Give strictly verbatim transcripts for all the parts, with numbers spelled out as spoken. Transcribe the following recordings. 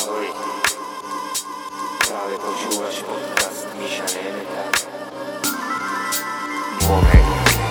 Ahoj, práve počúvaš podcast Miša Nemeta. Moment.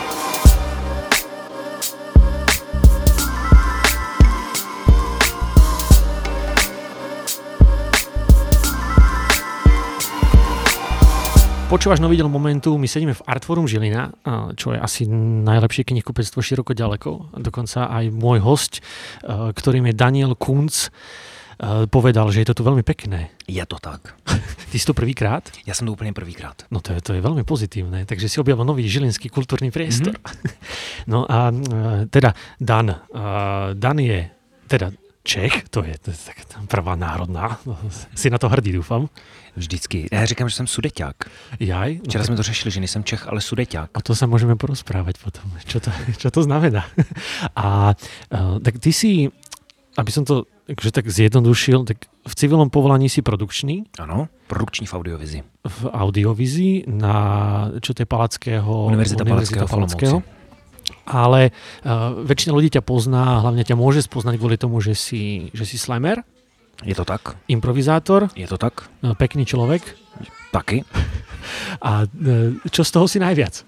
Počúvaš nový diel Momentu, my sedíme v Artforum Žilina, čo je asi najlepšie knihkupectvo široko ďaleko. Dokonca aj môj hosť, ktorým je Daniel Kunc, povedal, že je to tu veľmi pekné. Je to tak. Ty si to prvýkrát? Ja som to úplne prvýkrát. No to je, to je veľmi pozitívne, takže si objavil nový žilinský kultúrny priestor. Mm-hmm. No a teda Dan. Dan je teda Čech, to je, to je tak prvá národná. Si na to hrdý, dúfam. Vždycky. Já říkám, že jsem sudeťák. Jaj? No Včera tak... jsme to řešili, že nejsem Čech, ale sudeťák. O to sa môžeme porozprávať potom. Čo to, čo to znamená? A uh, tak ty si, aby som to akože tak zjednodušil, tak v civilnom povolaní si produkčný. Ano, produkční v audiovizi. V audiovizii na, čo to je Palackého... Univerzita, Univerzita Palackého, Palackého. Ale uh, väčšina ľudí ťa pozná, hlavne ťa môže spoznať kvôli tomu, že si, že si slammer. Je to tak. Improvizátor. Je to tak. Pekný človek. Taky. A čo z toho si najviac?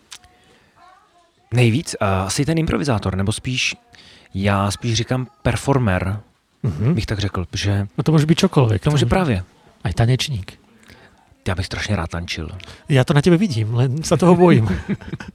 Nejvíc? Uh, asi ten improvizátor, nebo spíš, já spíš říkám performer, mm-hmm. bych tak řekl, že... No to môže byť čokoľvek. To môže právě. Aj tanečník. Já bych strašně rád tančil. Ja to na tebe vidím, len sa toho bojím. uh,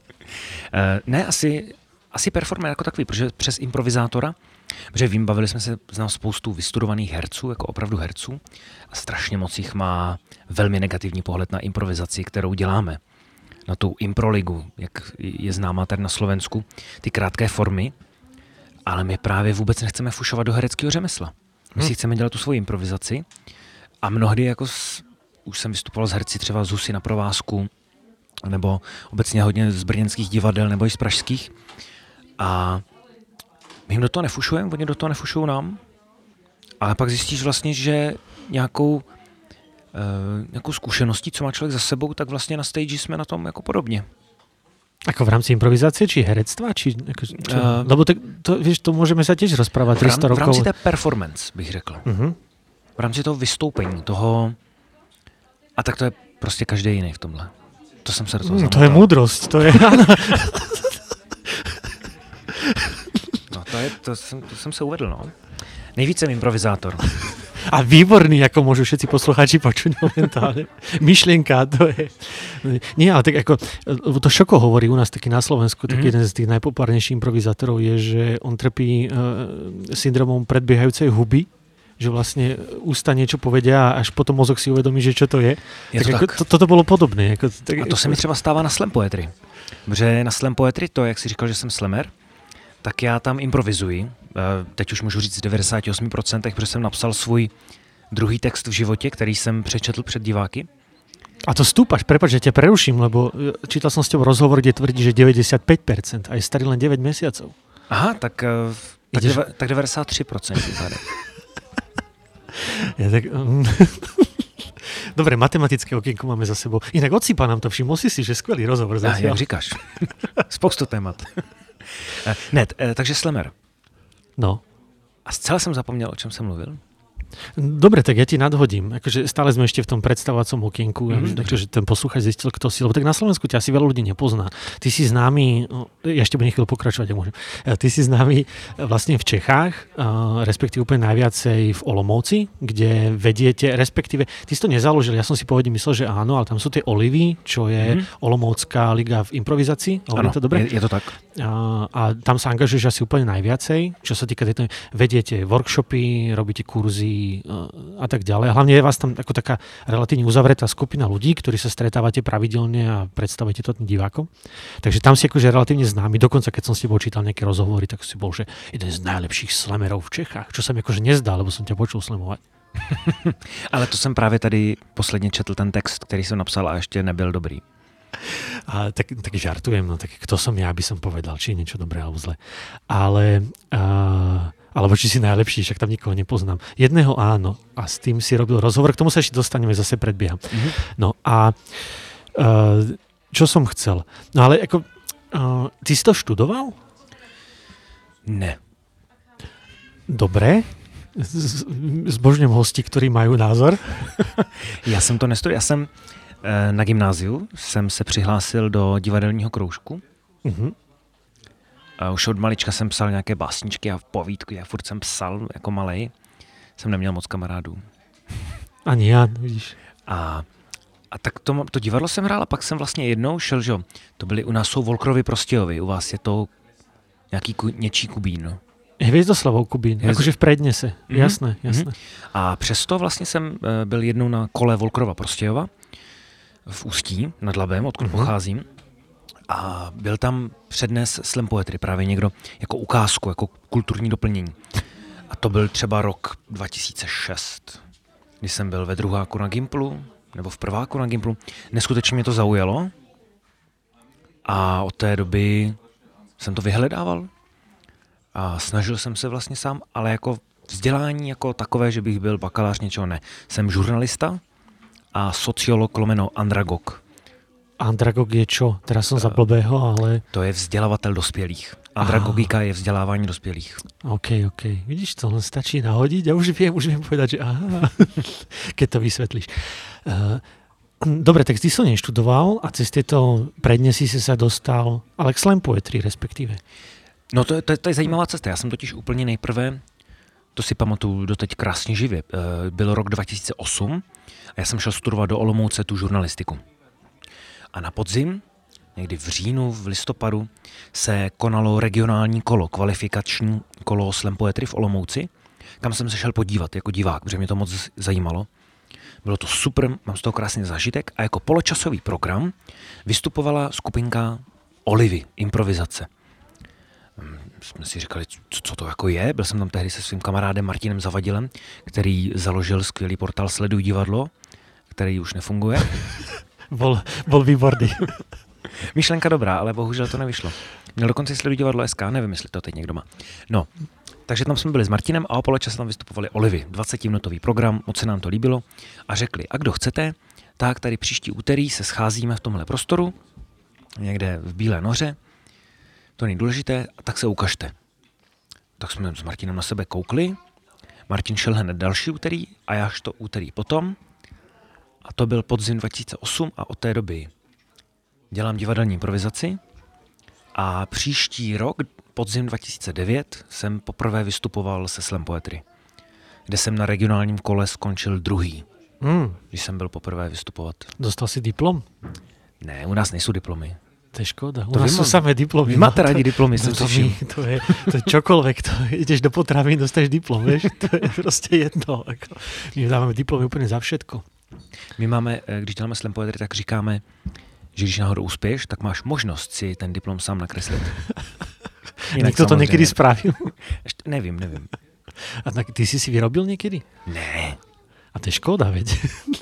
ne, asi... Asi performer jako takový, protože přes improvizátora, protože vím, bavili jsme se, znám spoustu vystudovaných herců, jako opravdu herců, a strašně moc jich má velmi negativní pohled na improvizaci, kterou děláme. Na tu improligu, jak je známá tady na Slovensku, ty krátké formy, ale my právě vůbec nechceme fušovat do hereckého řemesla. My si chceme dělat tu svoji improvizaci a mnohdy jako s, už jsem vystupoval s herci třeba z Husy na provázku, nebo obecně hodně z brněnských divadel, nebo i z pražských. A my jim do toho nefušujeme, oni do toho nefušují nám, ale pak zjistíš vlastně, že nějakou, e, nějakou zkušeností, co má člověk za sebou, tak vlastně na stage jsme na tom jako podobně. Ako v rámci improvizácie, či herectva? Či, ako, čo? Uh, Lebo tak, to, vieš, to môžeme sa tiež rozprávať tristo rokov. V rámci té performance, bych řekl. Uh-huh. V rámci toho vystoupení, toho... A tak to je prostě každý jiný v tomhle. To jsem se do toho mm, To je múdrosť, to je... No to, je, to, jsem, to jsem se uvedl, no. Nejvíc jsem improvizátor. A výborný, ako môžu všetci poslucháči počuť momentálne. Myšlienka, to je... Nie, ale tak ako... To Šoko hovorí u nás taký na Slovensku, taký mm-hmm. jeden z tých najpopulárnejších improvizátorov je, že on trpí uh, syndromom predbiehajúcej huby, že vlastne ústa niečo povedia a až potom mozog si uvedomí, že čo to je. je tak to ako, tak. To, toto bolo podobné. Ako, tak, a to se mi třeba stává na slam poetry. Protože na slam poetry, to, jak si říkal, že jsem slammer, tak já tam improvizuji. Teď už můžu říct z devadesát osm procent, protože jsem napsal svůj druhý text v životě, který jsem přečetl před diváky. A to stúpaš, prepáč, že ťa preruším, lebo čítal som s tebou rozhovor, kde tvrdí, že deväťdesiatpäť percent a je starý len deväť mesiacov. Aha, tak, tak, Ideš... deva, tak devadesát tři procent. Ja tak... Dobre, matematické okienko máme za sebou. Inak odsýpa nám to, všimol si si, že skvelý rozhovor zatiaľ. A jak říkáš. Spoustu témat. Ne, takže slammer. No. A zcela jsem zapomněl, o čem jsem mluvil. Dobre, tak ja ti nadhodím. Akože stále sme ešte v tom predstavovacom okienku, mm-hmm. takže ten posluchač zistil, kto si. Lebo tak na Slovensku ťa asi veľa ľudí nepozná. Ty si známy, ja ešte budem chvíľu pokračovať, ja môžem. Ty si známy vlastne v Čechách, respektíve úplne najviacej v Olomouci, kde vediete, respektíve, ty si to nezaložil, ja som si pôvodne myslel, že áno, ale tam sú tie Olivy, čo je mm-hmm. Olomoucká liga v improvizácii. Áno, to dobre? Je, je to tak. A, a tam sa angažuješ asi úplne najviacej, čo sa týka tejto, vediete workshopy, robíte kurzy a tak ďalej. Hlavne je vás tam ako taká relatívne uzavretá skupina ľudí, ktorí sa stretávate pravidelne a predstavujete to tým divákom. Takže tam si akože relatívne známy. Dokonca keď som s tebou čítal nejaké rozhovory, tak si bol, že jeden z najlepších slamerov v Čechách, čo sa mi akože nezdá, lebo som ťa počul slamovať. Ale to jsem právě tady posledně četl ten text, který jsem napsal a ještě nebyl dobrý. A tak, tak žartujem, no tak kto som ja, aby som povedal, či je niečo dobré alebo zlé. Ale... Uh, alebo či si najlepší, však tam nikoho nepoznám. Jedného áno, a s tým si robil rozhovor, k tomu sa ešte dostaneme, zase predbieham. Mm-hmm. No a uh, čo som chcel? No ale ako, uh, ty si to študoval? Ne. Dobre. zbožňujem hosti, ktorí majú názor. Já jsem to nestudoval. Já jsem e, na gymnáziu jsem se přihlásil do divadelního kroužku. Uh-huh. A už od malička jsem psal nějaké básničky a povídky. Já furt jsem psal jako malej. Jsem neměl moc kamarádů. Ani já, vidíš. A, a tak to, to divadlo jsem hrál a pak jsem vlastně jednou šel, že to byly u nás jsou Volkrovy Prostějovy, u vás je to nějaký ku, něčí Kubín. Hviezdoslavov Kubín, Hvězd... akože v prednese, mm-hmm. jasné, jasné. Mm-hmm. A přesto vlastně jsem byl jednou na kole Volkrova Prostějova v Ústí nad Labem, odkud mm-hmm. pocházím. A byl tam přednes slam poetry, právě někdo jako ukázku, jako kulturní doplnění. A to byl třeba rok dva tisíce šest, kdy jsem byl ve druháku na Gimplu, nebo v prváku na Gimplu. Neskutečně mě to zaujalo a od té doby jsem to vyhledával a snažil jsem se vlastně sám, ale jako vzdělání jako takové, že bych byl bakalář, něčeho ne. Jsem žurnalista a sociolog lomeno andragog. Andragog je čo? Teraz som za blbého, ale... To je vzdělavatel dospělých. Andragogika ah. je vzdělávání dospělých. OK, OK. Vidíš, to len stačí nahodiť a už viem, už viem povedať, že aha, keď to vysvetlíš. Uh, dobre, tak ty som neštudoval a cez tieto prednesy si sa dostal, ale k slam poetry respektíve. No to, to, to je zajímavá cesta. Já jsem totiž úplně nejprve, to si pamatuju doteď krásně živě, uh, byl rok dva tisíce osm a já jsem šel studovat do Olomouce tu žurnalistiku. A na podzim, někdy v říjnu, v listopadu, se konalo regionální kolo, kvalifikační kolo slam poetry v Olomouci, kam jsem se šel podívat jako divák, protože mě to moc zajímalo. Bylo to super, mám z toho krásný zážitek a jako poločasový program vystupovala skupinka Olivy, improvizace. Jsme si říkali, co, co to jako je. Byl jsem tam tehdy se svým kamarádem Martinem Zavadilem, který založil skvělý portál Sleduj divadlo, který už nefunguje. Bol, bol výborný. Myšlenka dobrá, ale bohužel to nevyšlo. Měl dokonce Sleduj divadlo S K, nevím, jestli to teď někdo má. No, takže tam jsme byli s Martinem a o poločase tam vystupovali Olivy. dvacetiminutový program, moc se nám to líbilo a řekli, a kdo chcete, tak tady příští úterý se scházíme v tomhle prostoru, někde v Bílé Noře, to není důležité, a tak se ukažte. Tak jsme s Martinem na sebe koukli, Martin šel hned další úterý a já to úterý potom. A to byl podzim dva tisíce osm a od té doby dělám divadelní improvizaci a příští rok, podzim dva tisíce devět, jsem poprvé vystupoval se slam poetry, kde jsem na regionálním kole skončil druhý, mm. když jsem byl poprvé vystupovat. Dostal si diplom? Ne, u nás nejsou diplomy. To je škoda. U to nás sú samé diplomy. Vy máte rádi diplomy, to, jsem to, si to, je, to je čokoľvek. To, ideš do potravín, dostaneš diplom, vieš? To je proste jedno. Ako, my dávame diplomy úplne za všetko. My máme, když děláme slam poetry, tak říkáme, že když náhodou uspěješ, tak máš možnost si ten diplom sám nakreslit. Niekto to niekedy spravil? Ešte, nevím, nevím. A tak ty si si vyrobil niekedy? Ne. A to je škoda, veď.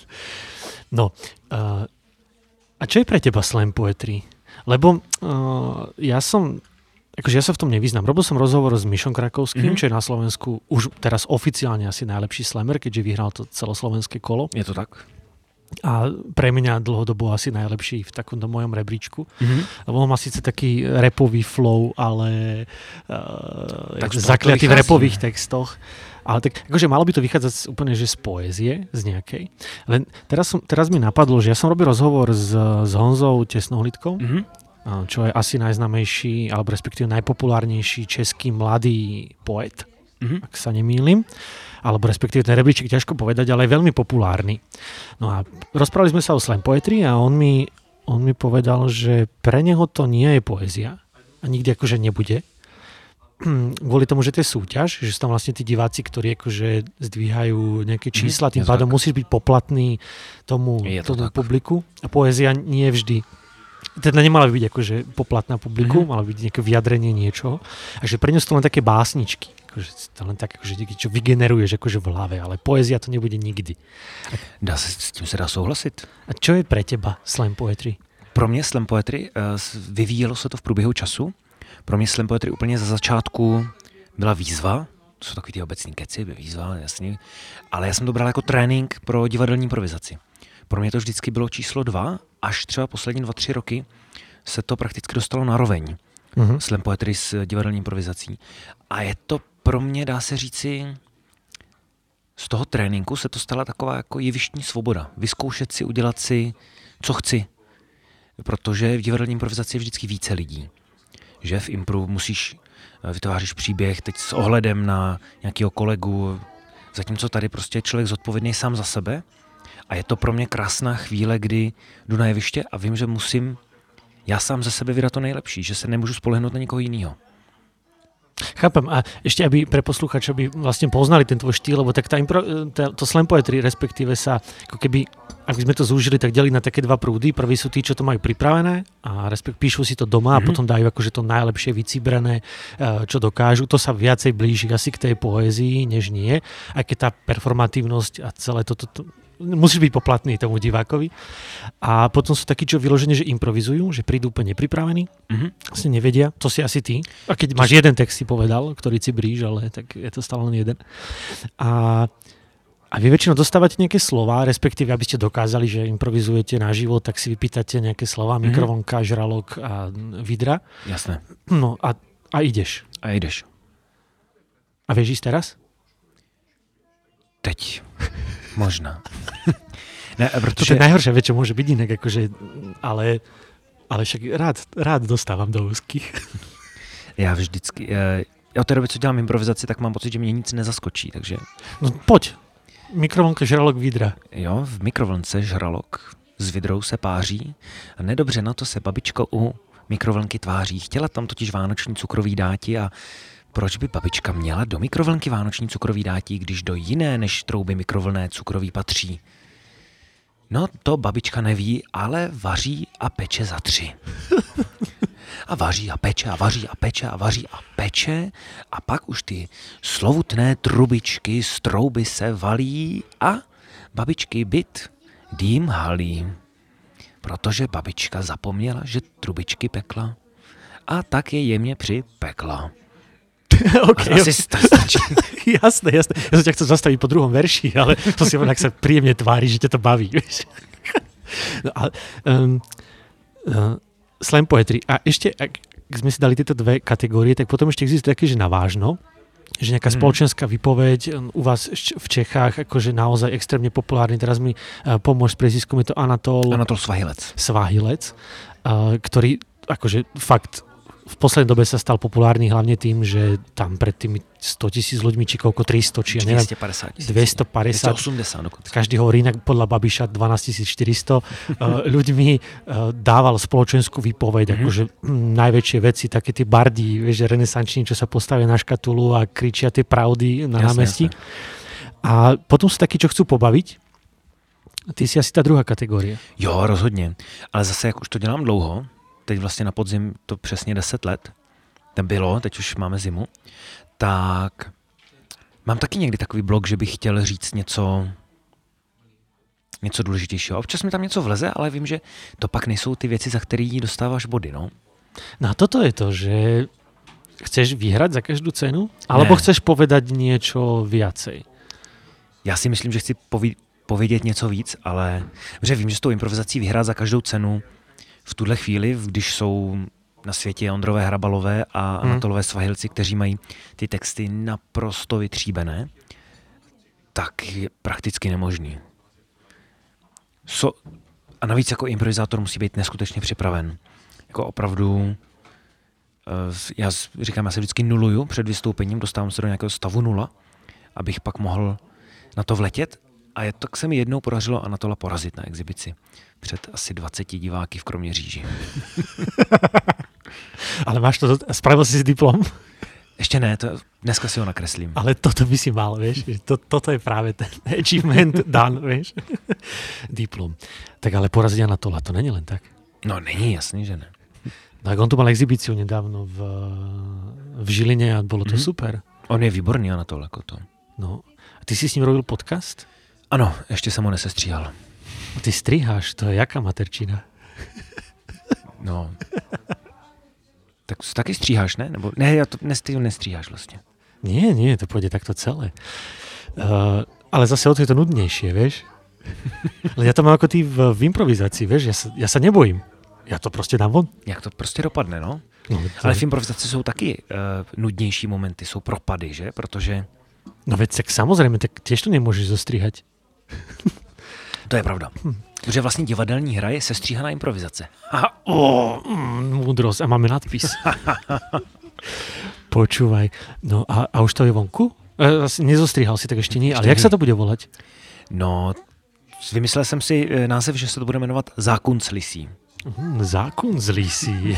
No, uh, a čo je pre teba slam poetry? Lebo uh, ja som, akože ja sa v tom nevyznám. Robil som rozhovor s Mišom Krakovským, mm-hmm. čo je na Slovensku už teraz oficiálne asi najlepší slammer, keďže vyhral to celoslovenské kolo. Je to tak? A pre mňa dlhodobo asi najlepší v takomto mojom rebríčku. Mm-hmm. Lebo on má síce taký rapový flow, ale uh, tak zakliatý v rapových textoch. Ale tak akože malo by to vychádzať úplne že z poézie, z nejakej. Len teraz, som, teraz mi napadlo, že ja som robil rozhovor s, s Honzou Tesnohlídkom, mm-hmm. čo je asi najznámejší, alebo respektíve najpopulárnejší český mladý poet, mm-hmm. ak sa nemýlim. Alebo respektíve ten rebríček ťažko povedať, ale je veľmi populárny. No a rozprávali sme sa o slam poetry a on mi, on mi povedal, že pre neho to nie je poézia a nikdy akože nebude. Kvôli tomu, že to je súťaž, že sú tam vlastne tí diváci, ktorí akože zdvíhajú nejaké čísla, tým pádom musíš byť poplatný tomu, to tomu publiku a poézia nie vždy. Teda nemala by byť akože poplatná publiku, mm-hmm. mala byť nejaké vyjadrenie niečoho. A že pre ňu sú to len také básničky. Akože to len tak, akože, čo vygeneruješ akože v hlave, ale poézia to nebude nikdy. Dá se, s tím se dá souhlasit. A čo je pre teba slam poetry? Pro mě slam poetry uh, vyvíjelo se to v průběhu času. Pro mě slam poetry úplně za začátku byla výzva, to jsou takový ty obecní keci, výzva, jasný, ale já jsem to bral jako trénink pro divadelní improvizaci. Pro mě to vždycky bylo číslo dva, až třeba poslední dva, tři roky se to prakticky dostalo na roveň. Mm-hmm. Slam poetry s divadelní improvizací. A je to pro mě, dá se říci, z toho tréninku se to stala taková jako jevištní svoboda. Vyzkoušet si, udělat si, co chci. Protože v divadelní improvizaci je vždycky více lidí. Že v impru musíš, vytváříš příběh teď s ohledem na nějakého kolegu, zatímco tady prostě je člověk zodpovědný sám za sebe. A je to pro mě krásná chvíle, kdy jdu na jeviště a vím, že musím já sám ze sebe vydat to nejlepší, že se nemůžu spolehnout na někoho jiného. Chápem. A ešte, aby pre posluchačov by vlastne poznali ten tvoj štýl, lebo tak tá impro, tá, to slam poetry, respektíve sa, ako keby, ak by sme to zúžili, tak delí na také dva prúdy. Prví sú tí, čo to majú pripravené a respekt, píšu si to doma mm-hmm. a potom dajú akože to najlepšie vycibrané, čo dokážu. To sa viacej blíži asi k tej poézii, než nie. Aj keď tá performatívnosť a celé toto... To, to, musíš byť poplatný tomu divákovi. A potom sú takí, čo vyložene, že improvizujú, že prídu úplne nepripravení, mm-hmm. vlastne nevedia, to si asi ty. A keď to máš si... jeden text, si povedal, ktorý si bríž, ale tak je to stále len jeden. A, a vy väčšinou dostávate nejaké slova, respektíve, aby ste dokázali, že improvizujete naživo, tak si vypýtate nejaké slova, mm-hmm. mikrovlnka, žralok a vidra. Jasné. No a, a ideš. A ideš. A vieš ísť teraz? Teď. Možná. Ne, protože... To je najhoršia vec, čo môže byť inak, akože, ale, ale však rád, rád dostávam do úzkých. Já vždycky, já od té doby, co dělám improvizaci, tak mám pocit, že mě nic nezaskočí, takže... No poď, mikrovlnka, žralok, vidra. Jo, v mikrovlnce žralok s vidrou se páří a nedobře na to se babička u mikrovlnky tváří. Chtěla tam totiž vánoční cukrový dáti a proč by babička měla do mikrovlnky vánoční cukrový dátí, když do jiné než trouby mikrovlné cukroví patří? No to babička neví, ale vaří a peče za tři. A vaří a peče a vaří a peče a vaří a peče a pak už ty slovutné trubičky z trouby se valí a babičky byt dým halí. Protože babička zapomněla, že trubičky pekla a tak je jemně připekla. Okay, asi stačí. Jasné, jasné. Ja som ťa chcel zastaviť po druhom verši, ale to si ak sa príjemne tvári, že ťa to baví. No, ale, um, uh, slam poetry. A ešte, ak sme si dali tieto dve kategórie, tak potom ešte existuje také, že navážno, že nejaká hmm. spoločenská výpoveď u vás v Čechách, akože naozaj extrémne populárny. Teraz mi uh, pomôž s priezviskom, je to Anatol... Anatol Svahilec. Svahilec, uh, ktorý akože fakt v poslednej dobe sa stal populárny hlavne tým, že tam pred tými sto tisíc ľuďmi, či koľko tristo, či ja neviem, dvestopäťdesiat tisíc. dvestopäťdesiat. dvestoosemdesiat dokonca. Každý hovorí inak, podľa Babiša dvanásťtisícštyristo ľuďmi dával spoločenskú výpoveď, mm-hmm. akože m, najväčšie veci, také tí bardi, vieš, renesanční, čo sa postavia na škatulu a kričia tie pravdy na jasne, námestí. Jasne. A potom sú takí, čo chcú pobaviť. Ty si asi tá druhá kategória. Jo, rozhodně. Ale zase, jak už to dělám dlouho, teď vlastně na podzim to přesně deset let, to bylo, teď už máme zimu, tak mám taky někdy takový blok, že bych chtěl říct něco, něco důležitějšího. Občas mi tam něco vleze, ale vím, že to pak nejsou ty věci, za který dostáváš body, no. No a toto je to, že chceš vyhrať za každú cenu? Alebo ne. Chceš povedať niečo viacej? Já si myslím, že chci poví- povědět něco víc, ale že vím, že s tou improvizací vyhrát za každou cenu v tuhle chvíli, když jsou na světě Ondrové Hrabalové a Anatolové Svahilci, kteří mají ty texty naprosto vytříbené, tak je prakticky nemožný. So, a navíc jako improvizátor musí být neskutečně připraven. Jako opravdu, já říkám, já se vždycky nuluju před vystoupením, dostávám se do nějakého stavu nula, abych pak mohl na to vletět. A je, tak se mi jednou podařilo Anatola porazit na exibici před asi dvaceti diváky v Kroměříži. Ale máš to, spravil si si diplom? Ještě ne, to, dneska si ho nakreslím. Ale toto by si mal, vieš. To, toto je práve ten achievement done, vieš. Diplom. Tak ale poraziť Anatola, to není len tak. No není, jasný, že ne. Tak on tu mal exibíciu nedávno v, v Žiline a bolo to mm-hmm. super. On je výborný Anatol, jako to. No. A ty si s ním robil podcast? Ano, ještě jsem ho nesestříhal. Ty striháš, to je jaká materčina? No. Tak taky stříháš, ne? Nebo ne, já to nestříhám, nestříháš vlastně. Nie, nie, to pôjde takto celé. Uh, ale zase o to je to nudnejšie, vieš? Ja to mám ako ty v, v improvizácii, vieš? Ja sa, ja sa nebojím. Ja to prostě dám von. Jak to prostě dopadne, no? no ale v improvizaci jsou taky uh, nudnější momenty, jsou propady, že? Protože No veď tak samozrejme, tak tiež to nemôžeš zostrihať. To je pravda. Hm. Protože vlastně divadelní hra je sestříhaná improvizace. A, ó, mm, múdrosť. A máme nadpis. Počúvaj. No a, a už to je vonku? E, nezostrihal si, tak ešte nie. Ale jak sa to bude volať? No, vymyslel jsem si název, že se to bude jmenovat Zákon z lisí. Mm, zákon z lisí.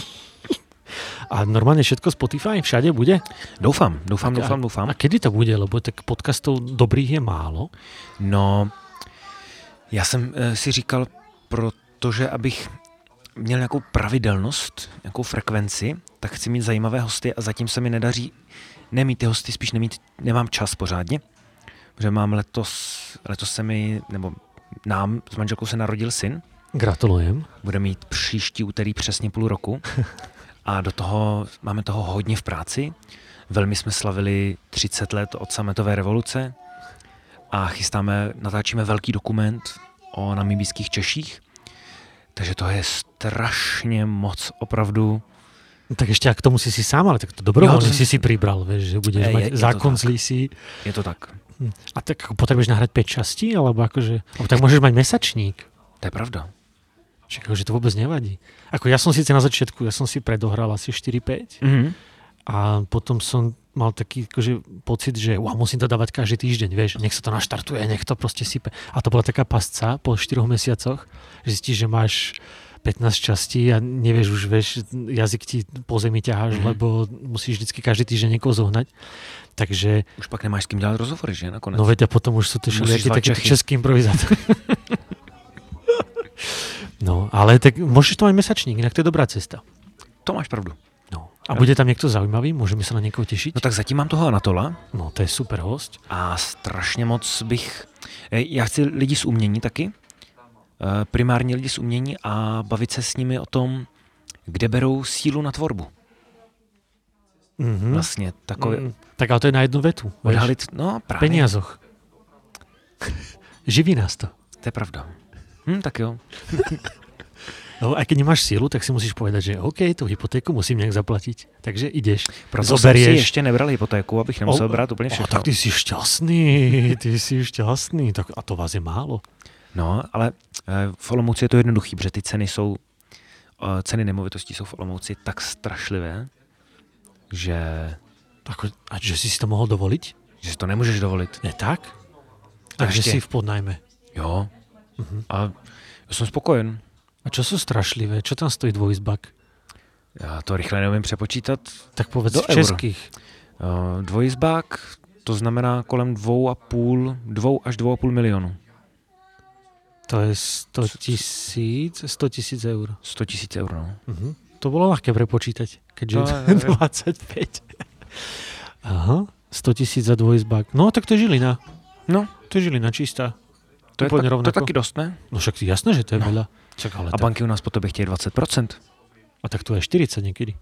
A normálne všetko Spotify všade bude? Doufám, doufám, a, doufám, doufám. A kedy to bude? Lebo tak podcastov dobrých je málo. No, já jsem e, si říkal, protože abych měl nějakou pravidelnost, nějakou frekvenci, tak chci mít zajímavé hosty a zatím se mi nedaří nemít ty hosty, spíš nemít, nemám čas pořádně, protože mám letos, letos se mi, nebo nám s manželkou se narodil syn. Gratulujem. Bude mít příští úterý přesně půl roku a do toho máme toho hodně v práci. Velmi jsme slavili třicet let od sametové revoluce a chystáme, natáčíme velký dokument o namibijských Češích. Takže to je strašně moc opravdu. No, tak ešte ak tomu si si sám, ale tak to dobrovoľne si si pribral, vieš, že budeš je, mať je, je zákon z lisí. Je to tak. A tak ako potrebuješ nahrať päť častí, alebo akože, alebo tak môžeš mať mesačník. To je pravda. Čiže akože to vôbec nevadí. Ako ja som síce na začiatku, ja som si predohral asi štyri päť Mm-hmm. a potom som mal taký akože pocit, že wow, musím to dávať každý týždeň, vieš, nech sa to naštartuje, nech to proste sype. A to bola taká pasca po štyroch mesiacoch, že zistíš, že máš pätnásť častí a nevieš už, vieš, jazyk ti po zemi ťaháš, mm-hmm. lebo musíš vždycky každý týždeň niekoho zohnať. Takže... Už pak nemáš s kým dělat rozhovory, že nakonec? No veď a potom už sú to všelijakí takí český improvizátor. No, ale tak môžeš to mať mesačník, inak to je dobrá cesta. To máš pravdu. No. A bude tam niekto zaujímavý? Môžeme sa na niekoho tešiť? No tak zatím mám toho Anatola. No, to je super host. A strašně moc bych... Já chci lidi z umění taky. Primárně lidi z umění a bavit se s nimi o tom, kde berou sílu na tvorbu. Mm-hmm. Vlastně takové... Mm, tak ale to je na jednu vetu. Odhalit, no právě. Peniazoch. Živí nás to. To je pravda. Hm, tak jo. No, a keď nemáš sílu, tak si musíš povedať, že OK, tú hypotéku musím nejak zaplatiť. Takže ideš, proto zoberieš. Proto si ještě nebral hypotéku, abych nemusel o, brát úplně všechno. O, tak ty si šťastný, ty si šťastný. Tak, a to vás je málo. No, ale v Olomouci je to jednoduchý, protože ty ceny jsou, ceny nemovitostí jsou v Olomouci tak strašlivé, že... Ako, a že si si to mohol dovoliť? Že si to nemůžeš dovolit. Je tak? Takže si v podnajme. Jo. Uh-huh. A já jsem spokojen. A čo sú strašlivé? Čo tam stojí dvojizbak? Já to rychle neumím přepočítat. Tak povedz do v českých. Uh, dvojizbák, to znamená kolem dvou a půl, dvou až dvou a půl milionu. To je sto tisíc, sto tisíc eur. sto tisíc eur, no. Uh-huh. To bolo ľahké prepočítať, keďže no, je dvadsaťpäť. Aha, sto tisíc za dvojizbák. No, tak to je Žilina. No. To je Žilina čistá. To je, tak, to je taky dost, ne? No však jasné, že to je no. veľa. Čak, ale a tak... banky u nás po tobě chtějí dvacet procent. A tak to je štyridsať niekedy.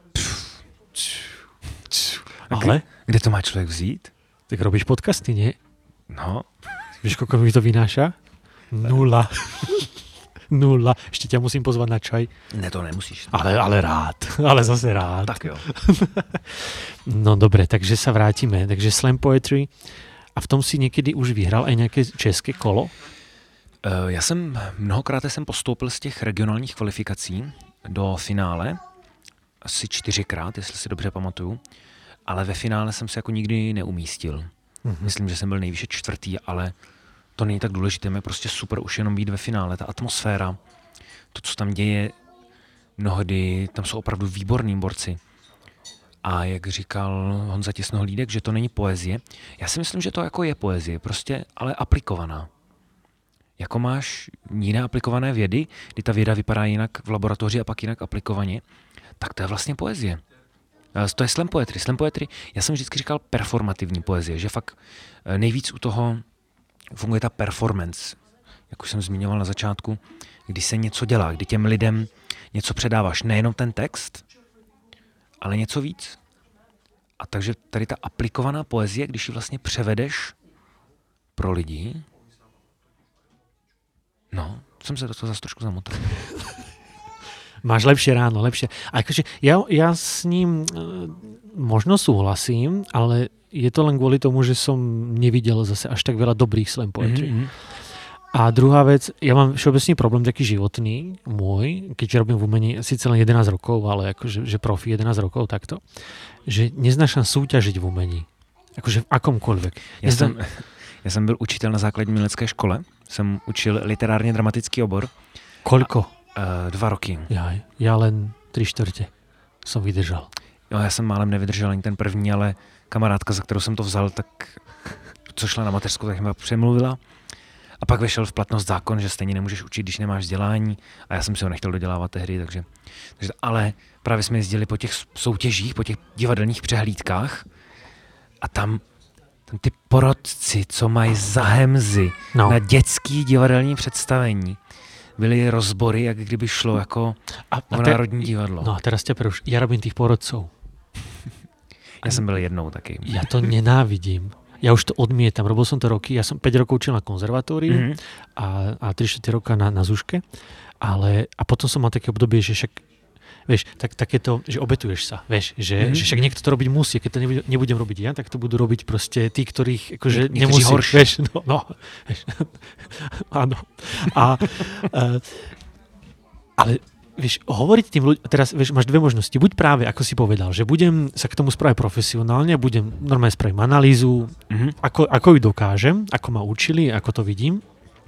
A ale? Kde to má člověk vzít? Tak robíš podcasty, nie? No. Víš, koľko mi to vynáša? Nula. Nula. Ešte ťa musím pozvať na čaj. Ne, to nemusíš. Ale, ale rád. Ale zase rád. Tak jo. No dobre, takže sa vrátime. Takže slam poetry. A v tom si někdy už vyhrál aj nějaké české kolo? Uh, já jsem mnohokrát jsem postoupil z těch regionálních kvalifikací do finále. Asi čtyřikrát, jestli si dobře pamatuju. Ale ve finále jsem se jako nikdy neumístil. Mm-hmm. Myslím, že jsem byl nejvýše čtvrtý, ale to není tak důležité. Je prostě super už jenom být ve finále. Ta atmosféra, to, co tam děje, mnohdy, tam jsou opravdu výborní borci. A jak říkal Honza Těsnohlídek, že to není poezie. Já si myslím, že to jako je poezie, prostě, ale aplikovaná. Jako máš jiné aplikované vědy, kdy ta věda vypadá jinak v laboratoři a pak jinak aplikovaně, tak to je vlastně poezie. To je slam poetry. Slam poetry, já jsem vždycky říkal performativní poezie, že fakt nejvíc u toho funguje ta performance, jak už jsem zmiňoval na začátku, kdy se něco dělá, kdy těm lidem něco předáváš, nejenom ten text, ale něco víc. A takže tady ta aplikovaná poezie, když ji vlastně převedeš pro lidi, no, jsem se do toho zase trošku zamotal. Máš lepšie ráno, lepšie. A akože ja, ja s ním e, možno súhlasím, ale je to len kvôli tomu, že som nevidel zase až tak veľa dobrých slam poetry. Mm-hmm. A druhá vec, ja mám všeobecný problém taký životný, môj, keďže robím v umení síce len jedenásť rokov, ale akože že profi jedenásť rokov takto, že neznášam súťažiť v umení. Akože v akomkoľvek. Ja Neznám... som, ja som byl učitel na základní umělecké škole, jsem učil literárně dramatický obor. Koľko? Uh, dva roky. Ja, ja len tri štvrte som vydržal. Jo, já jsem málem nevydržel ani ten první, ale kamarádka, za kterou jsem to vzal, tak co šla na mateřskou, tak mě přemluvila. A pak vyšel v platnost zákon, že stejně nemůžeš učit, když nemáš vzdělání. A já jsem si ho nechtěl dodělávat tehdy, takže, takže ale právě jsme jezdili po těch soutěžích, po těch divadelních přehlídkách a tam, tam ty porodci, co mají za hemzy no. na dětský divadelní představení, byly rozbory, jak kdyby šlo jako a, a te, Národní divadlo. No a teraz ťa preruš, ja robím tých porodcov. Ja som byl jednou taký. Ja to nenávidím. Ja už to odmietam. Robil som to roky. Ja som päť rokov učil na konzervatóriu mm-hmm. a, a tri štyri roka na, na Zuške. Ale, a potom som mal také obdobie, že však vieš, tak, takéto, že obetuješ sa, vieš, že, mm-hmm. že však niekto to robiť musí, keď to nebudem, nebudem robiť ja, tak to budú robiť proste tí, ktorých akože Nie, nemusí, horší. vieš, no, no, vieš, áno. A, uh, ale vieš, hovoriť tým ľuďom, teraz vieš, máš dve možnosti, buď práve, ako si povedal, že budem sa k tomu spraviť profesionálne, budem normálne spravím analýzu, mm-hmm. ako, ako ju dokážem, ako ma učili, ako to vidím,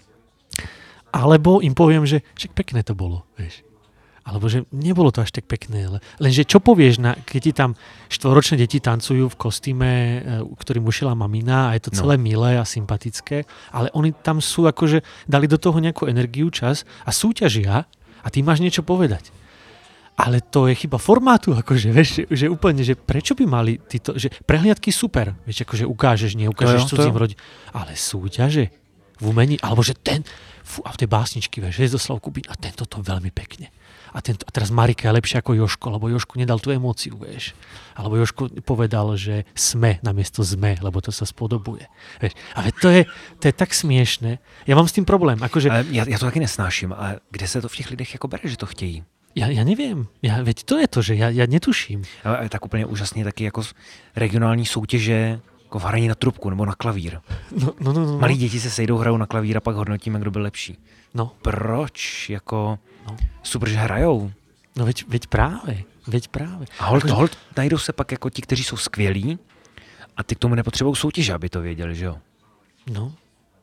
alebo im poviem, že však pekné to bolo, vieš. Alebo že nebolo to až tak pekné. Lenže čo povieš, na, keď ti tam štvoročné deti tancujú v kostýme, ktorým ušila mamina a je to celé no. milé a sympatické, ale oni tam sú akože, dali do toho nejakú energiu, čas a súťažia a ty máš niečo povedať. Ale to je chyba formátu, akože, vieš, že úplne, že prečo by mali títo, že prehliadky super, vieš, akože ukážeš, neukážeš cudzím rodiť, ale súťaže v umení, alebo že ten, fú, a v tej básničky, vieš, Hviezdoslav Kubín, a tento to veľmi pekne. A, tento, a teraz Marika je lepšia ako Jožko, lebo Jožko nedal tú emóciu, vieš. Alebo Jožko povedal, že sme namiesto sme, lebo to sa spodobuje. Vieš. Ale to je, to je tak smiešné. Ja mám s tým problém. Akože... Ja, ja to taky nesnáším. A kde sa to v těch lidech jako bere, že to chtějí? Ja, ja neviem. Ja, veď to je to, že ja, ja netuším. Ale tak úplně úžasně taky jako regionální soutěže, jako v hraní na trubku nebo na klavír. No, no, no, no. Malí děti se sejdou, hrajou na klavír a pak hodnotíme, kdo byl lepší. No. Proč? Jako... No. Super, že hrajou. No veď, veď práve, veď práve. A hold, Ako, hold najdou se pak jako ti, kteří jsou skvělí a ty k tomu nepotřebují soutěže, aby to věděli, že jo? No.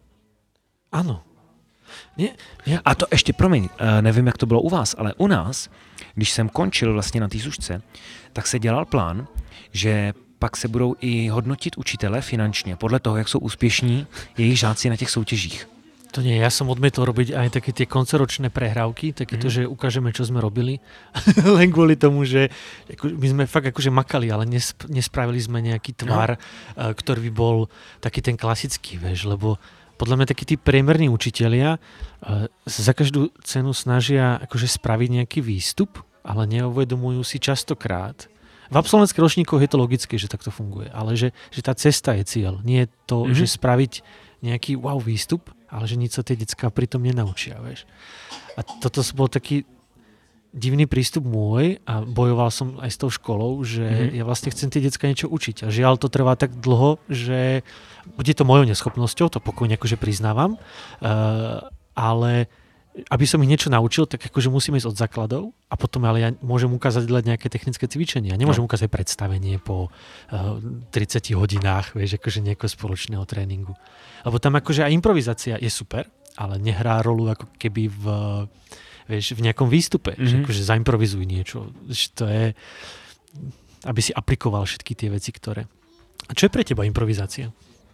Ano. Nie, nie. A to ještě, promiň, nevím, jak to bylo u vás, ale u nás, když jsem končil vlastně na té Zušce, tak se dělal plán, že pak se budou i hodnotit učitele finančně, podle toho, jak jsou úspěšní jejich žáci na těch soutěžích. To nie, ja som odmietol robiť aj také tie koncoročné prehrávky, takéto, mm. že ukážeme, čo sme robili, len kvôli tomu, že ako, my sme fakt akože makali, ale nesp- nespravili sme nejaký tvar, no. uh, ktorý by bol taký ten klasický, vieš, lebo podľa mňa takí tí priemerní učitelia uh, za každú cenu snažia akože spraviť nejaký výstup, ale neuvedomujú si častokrát. V absolventských ročníkoch je to logické, že takto funguje, ale že, že tá cesta je cieľ. Nie je to, mm-hmm. že spraviť nejaký wow výstup, ale že nič sa tie decká pritom nenaučia, vieš. A toto bol taký divný prístup môj a bojoval som aj s tou školou, že mm-hmm. ja vlastne chcem tie decká niečo učiť. A žiaľ, to trvá tak dlho, že bude to mojou neschopnosťou, to pokojne akože priznávam, uh, ale aby som ich niečo naučil, tak akože musím ísť od základov a potom ale ja môžem ukázať len nejaké technické cvičenia. Nemôžem no. ukázať predstavenie po uh, tridsiatich hodinách, vieš, akože nejakého spoločného tréningu. Lebo tam akože aj improvizácia je super, ale nehrá rolu ako keby v, vieš, v nejakom výstupe. Mm-hmm. Že akože zaimprovizuj niečo. To je, aby si aplikoval všetky tie veci, ktoré... A čo je pre teba improvizácia?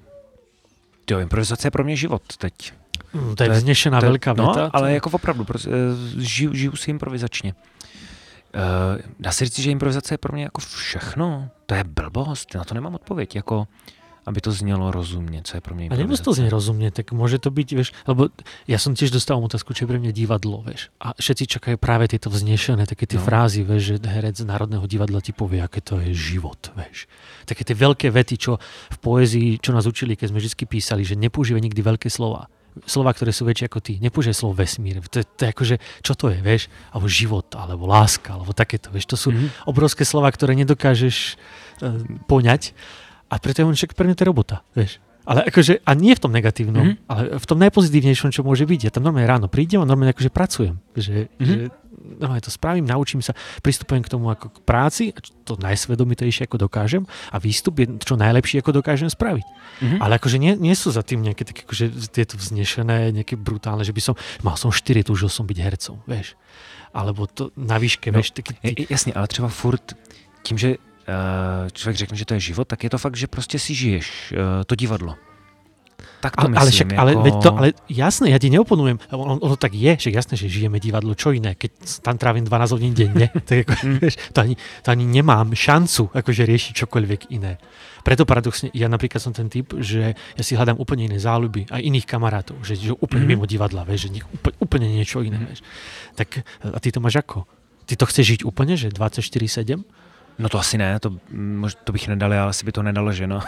Jo, improvizace je pro mě život teď. Mm, to je vznešená to, veľká no, veta. ale jako opravdu, žiju, žiju si improvizačně. Uh, dá se říct, že improvizace je pro mě jako všechno. To je blbost, na to nemám odpověď. Jako, aby to znělo rozumne, co je pro mňa improvizácia. A nemusí to znieť rozumne, tak môže to byť, vieš, lebo ja som tiež dostal otázku, čo je pre mňa divadlo, vieš. A všetci čakajú práve tieto vznešené, také tie no. frázy, vieš, že herec z Národného divadla ti povie, aké to je život, vieš. Také tie veľké vety, čo v poézii, čo nás učili, keď sme vždy písali, že nepoužívaj nikdy veľké slova. slova, ktoré sú väčšie ako ty. Nepoužij slovo vesmír. To, to je akože, čo to je, vieš? Alebo život, alebo láska, alebo takéto, vieš? To sú mm-hmm. obrovské slova, ktoré nedokážeš uh, poňať. A preto je on však pre mňa to je robota, vieš? Ale akože, a nie v tom negatívnom, mm-hmm. ale v tom najpozitívnejšom, čo môže byť. Ja tam normálne ráno prídem a normálne akože pracujem. Že, mm-hmm. že normálne to spravím, naučím sa, pristupujem k tomu ako k práci, to najsvedomitejšie ako dokážem a výstup je čo najlepšie ako dokážem spraviť. Mm-hmm. Ale akože nie, nie sú za tým nejaké také akože tieto vznešené, nejaké brutálne, že by som, mal som štyri, túžil som byť hercom, vieš. Alebo to na výške, no, vieš. Taky, ty... Jasně, ale třeba furt tím, že člověk řekne, že to je život, tak je to fakt, že prostě si žiješ to divadlo. Tak to ale, myslím. Ale, však, jako... ale, veď to, ale jasné, ja ti neoponujem. Ono, ono tak je, že jasné, že žijeme divadlo, čo iné, keď tam trávim dvanásť hodín denne. Tak ako, mm. vieš, to, ani, to ani nemám šancu akože riešiť čokoľvek iné. Preto paradoxne, ja napríklad som ten typ, že ja si hľadám úplne iné záľuby, aj iných kamarátov, že, že úplne mm. mimo divadla, vieš, že úplne, úplne niečo iné. Vieš. Tak a ty to máš ako? Ty to chceš žiť úplne, že dvadsaťštyri sedem? No to asi ne, to, to bych nedal, ale asi by to nedalo, že no.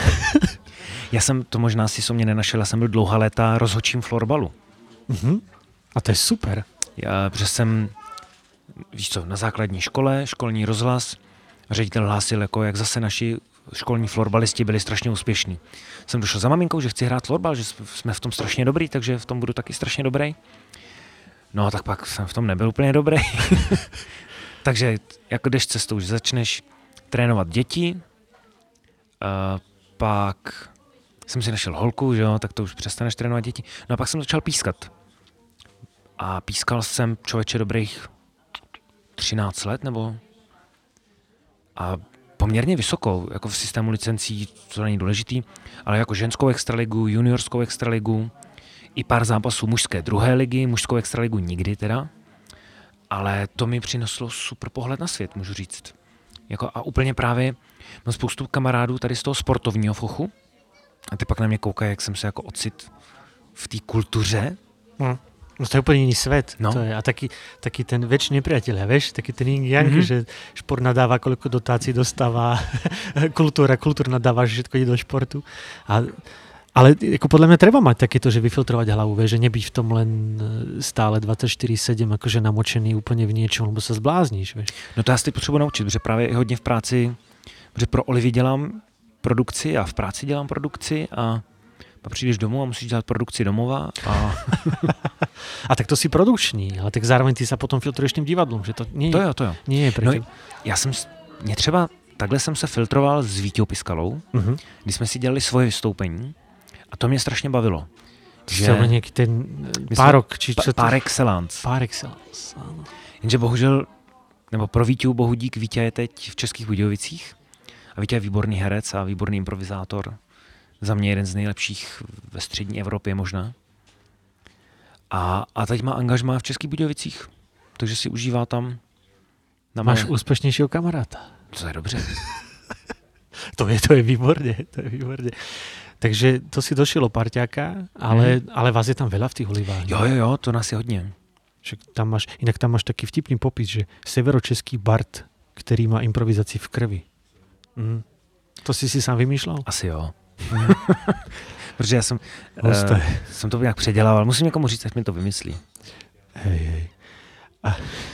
Já jsem, to možná si so mě nenašel, já jsem byl dlouhá léta rozhodčím florbalu. Uh-huh. A to je super. Já, protože jsem, víš co, na základní škole, školní rozhlas, ředitel hlásil, jako jak zase naši školní florbalisti byli strašně úspěšní. Jsem došel za maminkou, že chci hrát florbal, že jsme v tom strašně dobrý, takže v tom budu taky strašně dobrý. No tak pak jsem v tom nebyl úplně dobrý. Takže jako jdeš cestou, že začneš trénovat děti, uh, pak jsem si našel holku, že jo, tak to už přestaneš trénovat děti. No a pak jsem začal pískat. A pískal jsem člověče dobrých třináct let, nebo a poměrně vysokou, jako v systému licencí, co není důležitý, ale jako ženskou extraligu, juniorskou extraligu, i pár zápasů mužské druhé ligy, mužskou extraligu nikdy teda. Ale to mi přineslo super pohled na svět, můžu říct. Jako a úplně právě mám spoustu kamarádů tady z toho sportovního fochu a ty pak na mě koukají, jak jsem se jako ocit v té kultuře. Hmm. No to je úplne iný svet. No. To je, a taký, taký ten väčší nepriateľ, vieš? Taký ten yin yang, mm-hmm. že šport nadáva, koľko dotácií dostáva, kultúra, kultúra nadáva, že všetko ide do športu. A, ale ako podľa mňa treba mať takéto, že vyfiltrovať hlavu, vieš? Že nebyť v tom len stále dvadsaťštyri sedem, akože namočený úplne v niečom, lebo sa zblázníš, vieš? No to já si potřebuji naučit, protože právě hodně v práci, protože pro Olivy dělám produkci a v práci dělám produkci a pak přijdeš domů a musíš dělat produkci domova. A, a tak to si produkční, ale tak zároveň ty sa potom filtruješ tým divadlom, že to nie, to jo, to jo. nie je preto. No, já jsem, mě třeba, takhle jsem se filtroval s Víťou Piskalou, uh-huh. kdy jsme si dělali svoje vystoupení a to mě strašně bavilo. Že nějaký ten párok, či co to? Par excellence. Par excellence, áno. Jenže bohužel, nebo pro Víťu bohu dík, Víťa je teď v Českých Budějovicích a Víťa je výborný herec a výborný improvizátor. Za mě jeden z nejlepších ve střední Evropě možná. A, a teď má angažmá v Českých Budějovicích, takže si užívá tam. Na Máš malé... úspěšnějšího kamaráta. To je dobře. to je, to je výborně, to je výborně. Takže to si došilo parťáka, ale, mm. ale vás je tam veľa v tých Olivách. Jo, jo, jo, to nás je hodně. Však tam máš, inak tam máš taký vtipný popis, že severočeský bard, který má improvizaci v krvi. Mm. To si si sám vymýšlel? Asi jo. Protože já jsem, uh, jsem to nějak předělával. Musím někomu říct, ať mi to vymyslí. Hej, hej. A,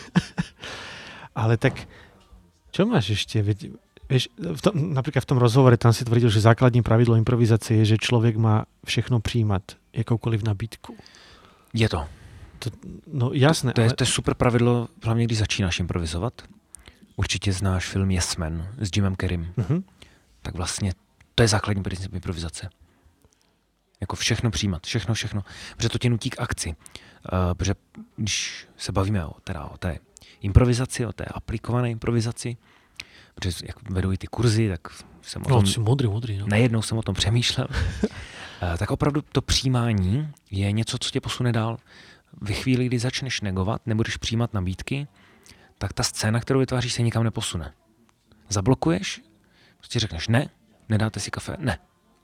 ale tak, čo máš ešte? Vieš, v tom, napríklad v tom rozhovore tam si tvrdil, že základní pravidlo improvizácie je, že človek má všechno přijímat, jakoukoliv nabídku. Je to. to no jasné. To, to, je, ale... to je super pravidlo, hlavně když začínáš improvizovat. Určitě znáš film Yes Man s Jimem Carreym. Uh-huh. Tak vlastně to je základní princip improvizace. Jako všechno přijímat, všechno, všechno. Protože to tě nutí k akci. Uh, protože když se bavíme o, teda o té improvizaci, o té aplikované improvizaci, protože jak vedou i ty kurzy, tak jsem o tom... No, modrý, modrý, no. Nejednou jsem o tom přemýšlel. uh, tak opravdu to přijímání je něco, co tě posune dál. Ve chvíli, kdy začneš negovat, nebudeš přijímat nabídky, tak ta scéna, kterou vytváříš, se nikam neposune. Zablokuješ, prostě řekneš ne, nedáte si kafe, ne.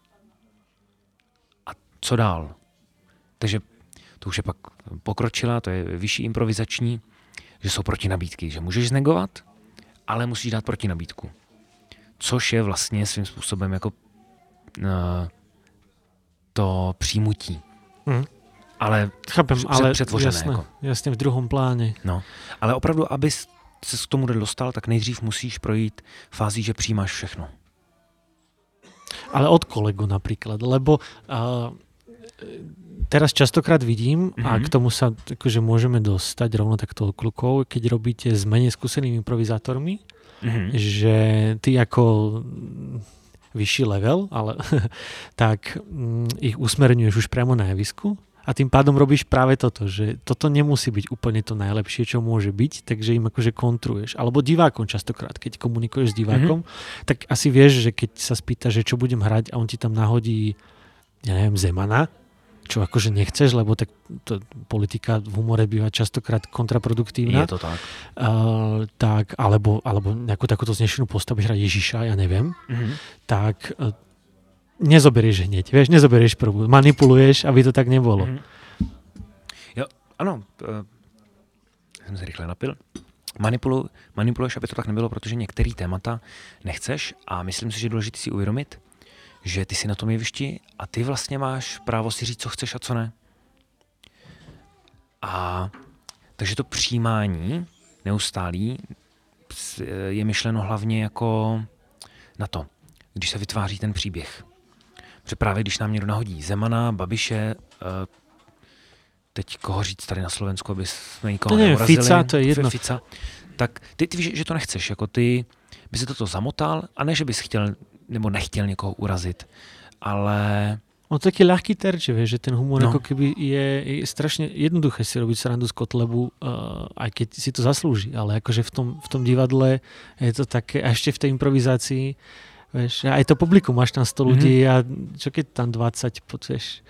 A co dál? Takže to už je pak pokročila, to je vyšší improvizační, že jsou protinabídky, že můžeš znegovat, ale musíš dát protinabídku. Což je vlastně svým způsobem jako uh, to přijmutí. Mm. Ale Chápem, před, ale přetvořené. jasne, Jako. jasne v druhom pláne. No, ale opravdu, abys se k tomu dostal, tak nejdřív musíš projít fází, že přijímáš všechno. Ale od kolegu napríklad, lebo uh, teraz častokrát vidím, mm-hmm. a k tomu sa akože môžeme dostať rovno takto klukov, keď robíte s menej skúsenými improvizátormi, mm-hmm. že ty ako vyšší level, ale tak um, ich usmerňuješ už priamo na javisku a tým pádom robíš práve toto, že toto nemusí byť úplne to najlepšie, čo môže byť, takže im akože kontruješ. Alebo divákom častokrát, keď komunikuješ s divákom, mm-hmm. tak asi vieš, že keď sa spýta, že čo budem hrať a on ti tam nahodí, ja neviem, Zemana, čo akože nechceš, lebo tak to, politika v humore býva častokrát kontraproduktívna. Je to tak. Uh, tak alebo, alebo nejakú takúto znešenú postavu, hrať Ježiša, ja neviem. Mm-hmm. Tak uh, nezoberieš hneď, vieš, nezoberieš prvú. Manipuluješ, aby to tak nebolo. Mm-hmm. Jo, ano. Uh, jsem se rychle napil. Manipulu, manipuluješ, aby to tak nebylo, protože některé témata nechceš a myslím si, že je důležité si uvědomit, že ty jsi na tom jevišti a ty vlastně máš právo si říct, co chceš a co ne. A takže to přijímání neustálý je myšleno hlavně jako na to, když se vytváří ten příběh. Protože právě když nám někdo nahodí Zemana, Babiše, teď koho říct tady na Slovensku, aby jsme nikoho to neurazili. Fica, to je jedno. Fica, tak ty, ty víš, že to nechceš. Jako ty by si toto zamotal a ne, že bys chtěl nebo nechtěl někoho urazit, ale... On to taký ľahký terč, vieš, že ten humor no. ako keby je, je strašne jednoduché si robiť srandu z Kotlebu, uh, aj keď si to zaslúži, ale akože v tom, v tom divadle je to také, a ešte v tej improvizácii, vieš, aj to publikum, máš tam sto ľudí mm-hmm. a čo keď tam dvadsať, vieš,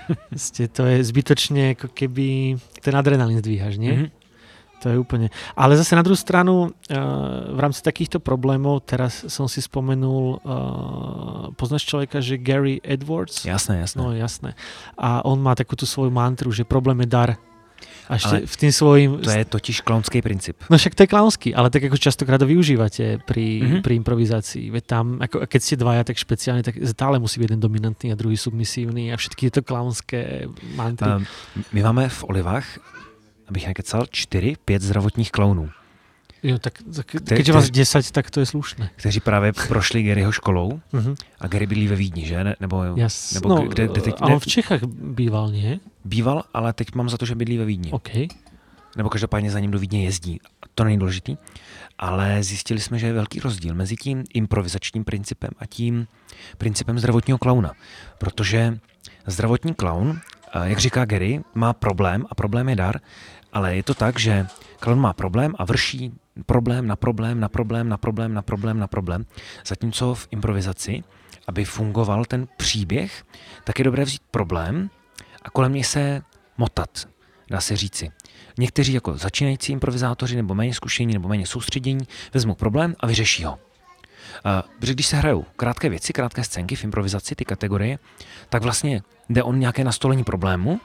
to je zbytočne ako keby ten adrenalín zdvíhaš, nie? Mm-hmm. To je úplne. Ale zase na druhú stranu, uh, v rámci takýchto problémov, teraz som si spomenul, uh, poznáš človeka, že Gary Edwards? Jasné, jasné. No jasné. A on má takú tú svoju mantru, že problém je dar. A ešte ale v tým svojím... To je totiž klaunský princíp. No však to je klaunský, ale tak ako častokrát to využívate pri, mm-hmm. pri improvizácii. Veď tam, ako, keď ste dvaja, tak špeciálne, tak stále musí byť jeden dominantný a druhý submisívny a všetky tieto klaunské mantry. Um, my máme v Olivách, abych nekecal, čtyři, pět zdravotních klaunů. Jo, tak, tak keďže vás desať, tak to je slušné. Kteří právě prošli Garyho školou uh-huh. a Gary bydlí ve Vídni, že? Ne, nebo, Jas, nebo no, kde, kde teď, ale v Čechách býval, nie? Býval, ale teď mám za to, že bydlí ve Vídni. Okay. Nebo každopádně za ním do Vídně jezdí. To není důležitý. Ale zjistili jsme, že je velký rozdíl mezi tím improvizačním principem a tím principem zdravotního klauna. Protože zdravotní klaun, jak říká Gary, má problém a problém je dar, ale je to tak, že klaun má problém a vrší problém na problém, na problém, na problém, na problém, na problém. Zatímco v improvizaci, aby fungoval ten příběh, tak je dobré vzít problém a kolem něj se motat, dá se říci. Někteří jako začínající improvizátoři nebo méně zkušení nebo méně soustředění vezmou problém a vyřeší ho. Protože když se hrajou krátké věci, krátké scénky v improvizaci, ty kategorie, tak vlastně jde o nějaké nastolení problému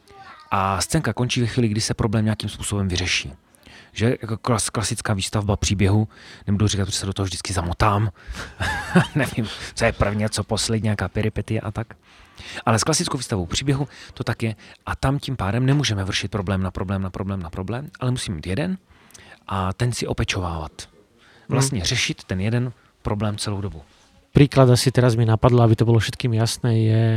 a scénka končí ve chvíli, kdy se problém nějakým způsobem vyřeší. Že jako klas, klasická výstavba příběhu, nebudu říkat, že se do toho vždycky zamotám, nevím, co je první, co poslední, nějaká peripetie a tak. Ale s klasickou výstavou příběhu to tak je a tam tím pádem nemůžeme vršit problém na problém, na problém, na problém, ale musíme mít jeden a ten si opečovávat. Vlastně hmm. řešit ten jeden problém celou dobu. Príklad asi teraz mi napadlo, aby to bolo všetkým jasné, je,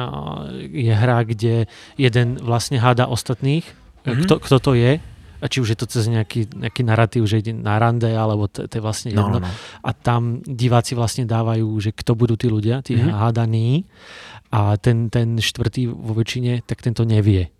je hra, kde jeden vlastne háda ostatných, mm-hmm. kto, kto to je, a či už je to cez nejaký, nejaký narratív, že ide na rande, alebo to, to je vlastne jedno. No, no, no. A tam diváci vlastne dávajú, že kto budú tí ľudia, tí mm-hmm. hádaní, a ten, ten štvrtý vo väčšine, tak tento nevie.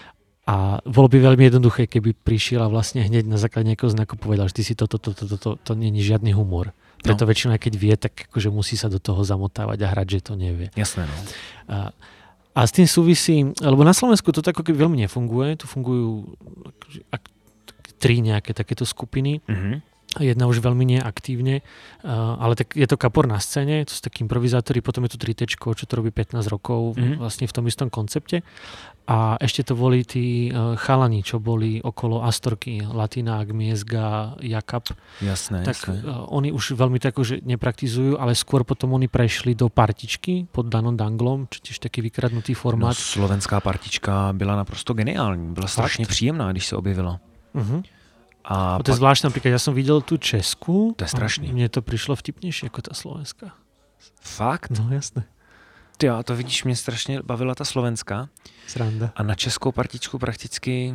A bolo by veľmi jednoduché, keby prišiel a vlastne hneď na základe nejakého znaku povedal, že ty si toto, toto, toto, to, to nie je žiadny humor. Preto no. väčšinou, keď vie, tak akože musí sa do toho zamotávať a hrať, že to nevie. Jasné, no. A, a s tým súvisí, lebo na Slovensku to tak ako keby veľmi nefunguje, tu fungujú ak, tri nejaké takéto skupiny. Mm-hmm. jedna už veľmi neaktívne, uh, ale tak je to Kapor na scéne, to sú takí improvizátori, potom je tu tri téčko, čo to robí pätnásť rokov mm-hmm. vlastne v tom istom koncepte. A ešte to boli tí uh, chalani, čo boli okolo Astorky, Latinák, Miezga, Jakab. Jasné, tak jasné. Uh, oni už veľmi tak, že nepraktizujú, ale skôr potom oni prešli do partičky pod Danom Danglom, čo tiež taký vykradnutý formát. No, slovenská partička byla naprosto geniální, byla strašně příjemná, když se objevila. Uh-huh. A to je pak... zvláštne, napríklad ja som videl tú Česku. To je strašný. Mne to prišlo vtipnejšie ako tá slovenská. Fakt? No jasné. Ty jo, to vidíš, mě strašně bavila ta slovenská. Sranda. A na českou partičku prakticky...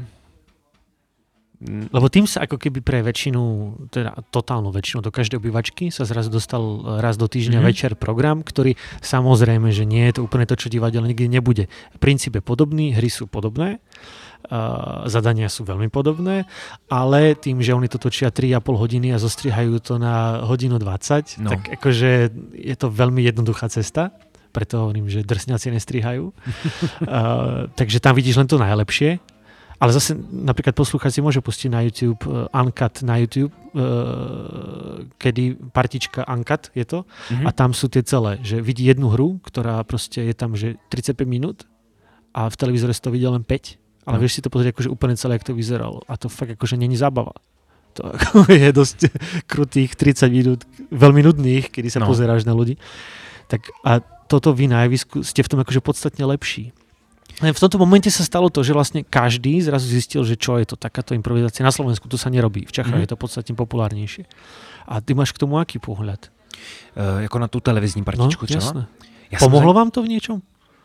Lebo tým sa ako keby pre väčšinu, teda totálnu väčšinu, do každej obývačky sa zrazu dostal raz do týždňa mm-hmm. večer program, ktorý samozrejme, že nie je to úplne to, čo divadelne nikdy nebude. Princíp je podobný, hry sú podobné, uh, zadania sú veľmi podobné, ale tým, že oni to točia tri a pol hodiny a zostrihajú to na hodinu dvadsať, no. tak akože je to veľmi jednoduchá cesta. Preto hovorím, že drsňaci nestrihajú. uh, takže tam vidíš len to najlepšie. Ale zase napríklad poslucháč si môže pustiť na YouTube uh, Uncut na YouTube, uh, kedy partička Uncut je to mm-hmm. a tam sú tie celé, že vidí jednu hru, ktorá proste je tam, že tridsaťpäť minút a v televízore si to vidí len päť, ale mm. vieš si to pozrieť akože úplne celé, jak to vyzeralo. A to fakt akože není zábava. To je dosť krutých tridsať minút, veľmi nudných, kedy sa no. pozeráš na ľudí. Tak a toto vy na javisku ste v tom akože podstatne lepší. V tomto momente sa stalo to, že vlastne každý zrazu zistil, že čo je to takáto improvizácia. Na Slovensku to sa nerobí, v Čechách mm. je to podstatne populárnejšie. A ty máš k tomu aký pohľad? Uh, jako na tu televizní partičku no, třeba? Jasné. Já Pomohlo za... vám to v něčem?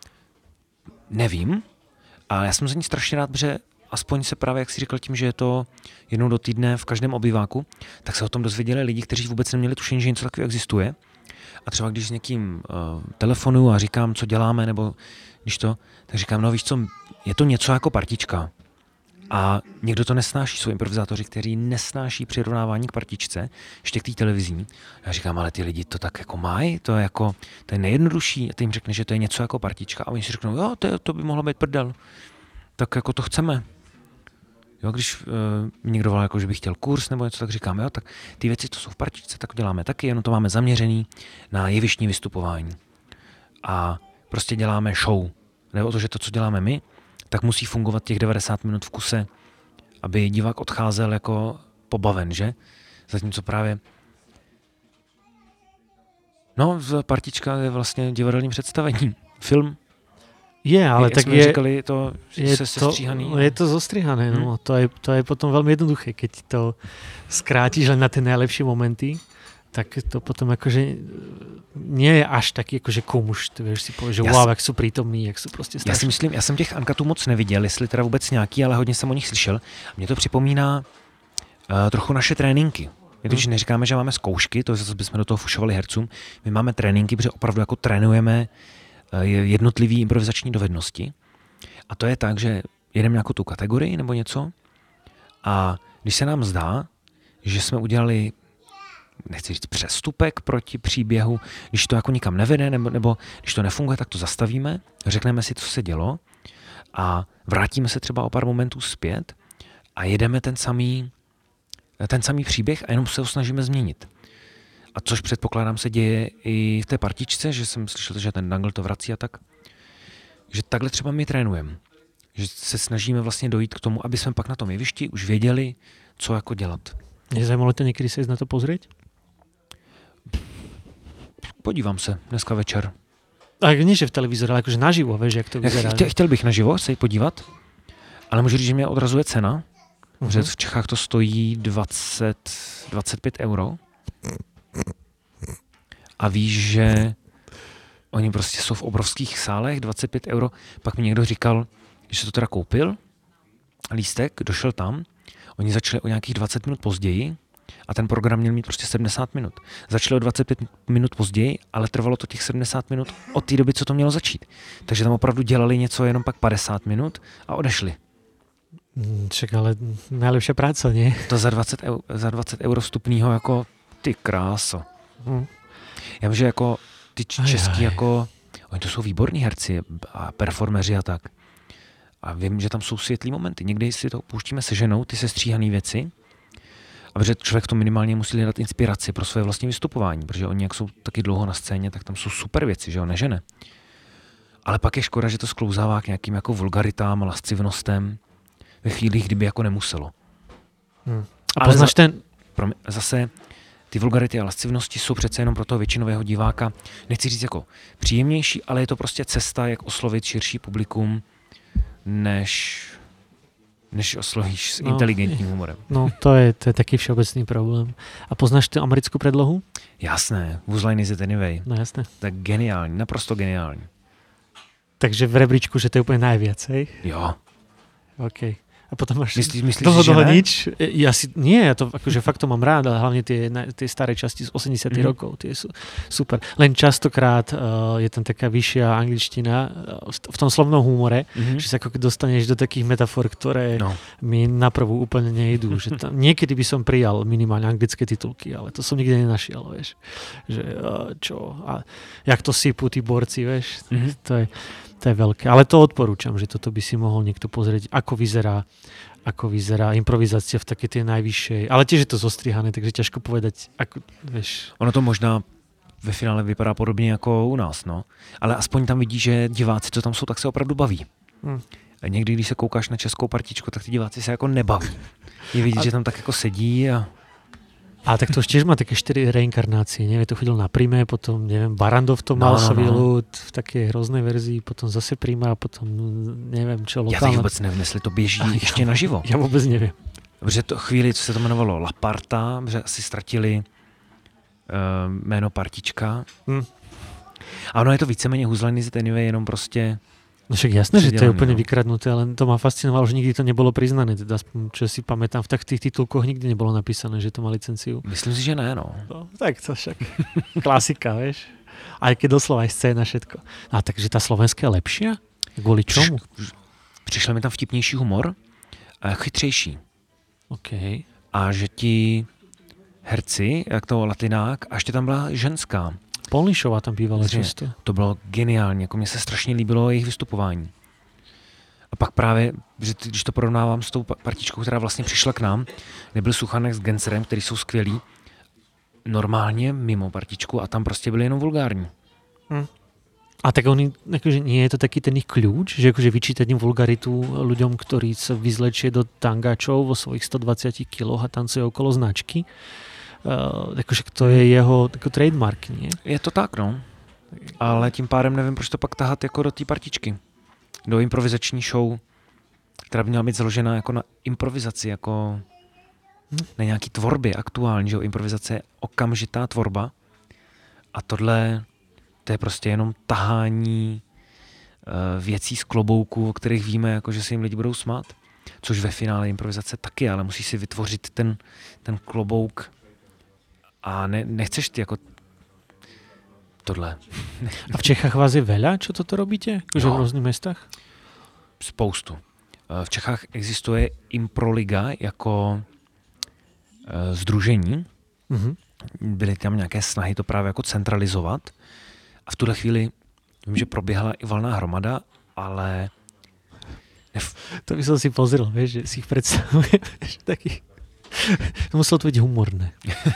Nevím, ale já jsem za ní strašně rád, protože aspoň se právě, jak jsi říkal tím, že je to jednou do týdne v každém obýváku, tak se o tom dozvěděli lidi, kteří vůbec neměli tušení, že něco takového existuje. A třeba když s někým uh, telefonuju a říkám, co děláme, nebo když to, tak říkám, no víš co, je to něco jako partička. A někdo to nesnáší, jsou improvizátoři, kteří nesnáší přirovnávání k partičce, ještě k té televizní. Já říkám, ale ty lidi to tak jako mají, to je jako, to je nejjednodušší. A ty jim řekne, že to je něco jako partička. A oni si řeknou, jo, to, to by mohlo být prdel. Tak jako to chceme. Jo, když uh, někdo volá, jako, že by chtěl kurz nebo něco, tak říkám, jo, tak ty věci, co jsou v partičce, tak děláme taky, jenom to máme zaměřený na jevištní vystupování. A prostě děláme show. Nebo to, že to, co děláme my, tak musí fungovat těch devadesát minut v kuse, aby divák odcházel jako pobaven, že? Zatímco právě no, partička je vlastně divadelní představení. Film. Je, ale jak tak jsme je, říkali, to je se to, sestříhaný. je to zostrihané, hmm. no. To je, to je potom veľmi jednoduché, keď to skrátiš len na tie najlepšie momenty, tak to potom akože nie je až taký akože komuš, ty vieš si povieš, že wow, jak sú prítomní, jak sú proste strašní. Já si myslím, já jsem těch Uncutů moc neviděl, jestli teda vůbec nějaký, ale hodně jsem o nich slyšel. Mně to připomíná uh, trochu naše tréninky. My totiž hmm. neříkáme, že máme zkoušky, to zase bychom do toho fušovali hercům. My máme tréninky, protože opravdu jako trénujeme uh, jednotlivý improvizační dovednosti. A to je tak, že jedeme nějakou tu kategorii nebo něco a když se nám zdá, že jsme udělali, nechci říct přestupek proti příběhu, když to jako nikam nevede nebo, nebo když to nefunguje, tak to zastavíme, řekneme si, co se dělo a vrátíme se třeba o pár momentů zpět a jedeme ten samý, ten samý příběh a jenom se ho snažíme změnit. A což předpokládám se děje i v té partičce, že jsem slyšel, že ten Dangle to vrací a tak. Že takhle třeba my trénujeme. Že se snažíme vlastně dojít k tomu, aby jsme pak na tom jevišti už věděli, co jako dělat. Nezajímalo to někdy se jít na to pozrieť? Podívám se dneska večer. A nie, že v televízore, ale akože naživo, vieš, jak to vyzerá. Chtěl, chtěl bych naživo se podívat, ale můžu říct, že mě odrazuje cena. Uh-huh. Že v Čechách to stojí dvacet, dvacet pět euro. A víš, že oni prostě jsou v obrovských sálech, dvacet pět euro. Pak mi někdo říkal, že to teda koupil, lístek, došel tam, oni začali o nějakých dvacet minut později a ten program měl mít prostě sedmdesát minut. Začali o dvacet pět minut později, ale trvalo to těch sedmdesát minut od té doby, co to mělo začít. Takže tam opravdu dělali něco jenom pak padesát minut a odešli. Čak, ale najlepšia práca, nie? To za dvacet, eur, za dvacet euro vstupního jako ty kráso. Hmm. Já vím, že jako ty český jako, oni to jsou výborní herci a performeři a tak. A vím, že tam jsou světlý momenty. Někdy si to pouštíme se ženou, ty sestříhané věci A protože člověk to minimálně musí hledat inspiraci pro své vlastní vystupování, protože oni, jak jsou taky dlouho na scéně, tak tam jsou super věci, že jo, nežene. Ale pak je škoda, že to sklouzává k nějakým jako vulgaritám a lascivnostem ve chvílích, kdyby jako nemuselo. Hmm. A poznáš za, ten... Promi- zase ty vulgarity a lascivnosti jsou přece jenom pro toho většinového diváka, nechci říct jako příjemnější, ale je to prostě cesta, jak oslovit širší publikum, než, než oslovíš s no, inteligentním humorem. No, to je, to je taký všeobecný problém. A poznáš tu americkou predlohu? Jasné, Whose Line Is It Anyway. No jasné. Tak geniální, naprosto geniální. Takže v rebríčku, že to je úplně najviac, hej? Jo. OK. A potom máš myslíš, myslíš, dlho, že dlho ne? nič. Ja si, nie, ja to akože fakt to mám rád, ale hlavne tie, tie staré časti z osemdesiatych mm. rokov, tie sú super. Len častokrát uh, je tam taká vyššia angličtina uh, v tom slovnom humore, mm-hmm. že sa ako dostaneš do takých metafor, ktoré no. mi naprvu úplne nejdú. Že tam, niekedy by som prijal minimálne anglické titulky, ale to som nikde nenašiel, vieš. Že uh, čo, a jak to sypú tí borci, vieš. Mm-hmm. To je To je veľké. Ale to odporúčam, že toto by si mohol niekto pozrieť, ako vyzerá, ako vyzerá improvizácia v také tej najvyššej. Ale tiež je to zostrihané, takže ťažko povedať, ako, vieš. Ono to možná ve finále vypadá podobně jako u nás, no. Ale aspoň tam vidí, že diváci, co tam jsou, tak se opravdu baví. Hmm. A někdy, když se koukáš na českou partičku, tak ty diváci se jako nebaví. Je vidět, a... že tam tak jako sedí a... A tak to už tiež má také štyri reinkarnácie, neviem, to chodil na Prime, potom, neviem, Barandov to mal, no, no, no. v takej hroznej verzii, potom zase Prima a potom, neviem, čo lokálne. Já teď vůbec nevím, jestli to běží a ještě ja, naživo. Já vůbec nevím. Protože to chvíli, co se to jmenovalo Laparta, že asi ztratili uh, jméno Partička. Hmm. A ono je to víceméně Whose Line Is It Anyway, jenom prostě... No však jasné, že to je úplne no. vykradnuté, ale to ma fascinovalo, že nikdy to nebolo priznané. Teda čo si pamätám, v tak tých titulkoch nikdy nebolo napísané, že to má licenciu. Myslím si, že ne, no. no tak to však klasika, vieš. Aj keď doslova aj scéna, všetko. A takže tá slovenská je lepšia? Kvôli čomu? Přišel mi tam vtipnější humor a chytřejší. OK. A že ti herci, jak to latinák, a ještě tam byla ženská. Polnišová tam bývala často. To bylo geniální, jako mně se strašně líbilo jejich vystupování. A pak právě, že když to porovnávám s tou partičkou, která vlastně přišla k nám, kde byl Suchanek s Gencerem, který jsou skvělí, normálně mimo partičku a tam prostě byli jenom vulgární. Hmm. A tak oni, akože nie je to taký ten ich kľúč, že akože vyčítať im vulgaritu ľuďom, ktorí sa vyzlečie do tangačov vo svojich stodvadsiatich kiloch a tancuje okolo značky. Uh, jakože to je jeho jako trademark, nie? Je to tak, no. Ale tím pádem nevím, proč to pak tahat jako do té partičky. Do improvizační show, která by měla být založena jako na improvizaci, jako hmm. na nějaký tvorbě aktuální, že jo? Improvizace je okamžitá tvorba a tohle to je prostě jenom tahání uh, věcí z klobouku, o kterých víme, jako, že se jim lidi budou smát. Což ve finále improvizace taky, ale musíš si vytvořit ten, ten klobouk. A ne, nechceš ty jako tohle. A v Čechách vás je veľa, čo toto robíte? Že v různých městech? Spoustu. V Čechách existuje Improliga jako uh, sdružení. Mm-hmm. Byly tam nějaké snahy to právě jako centralizovat. A v tuhle chvíli vím, že proběhla i valná hromada, ale... Nef... To by som si pozrel, vieš, že si ich predstavuješ taký... To muselo to být humorné.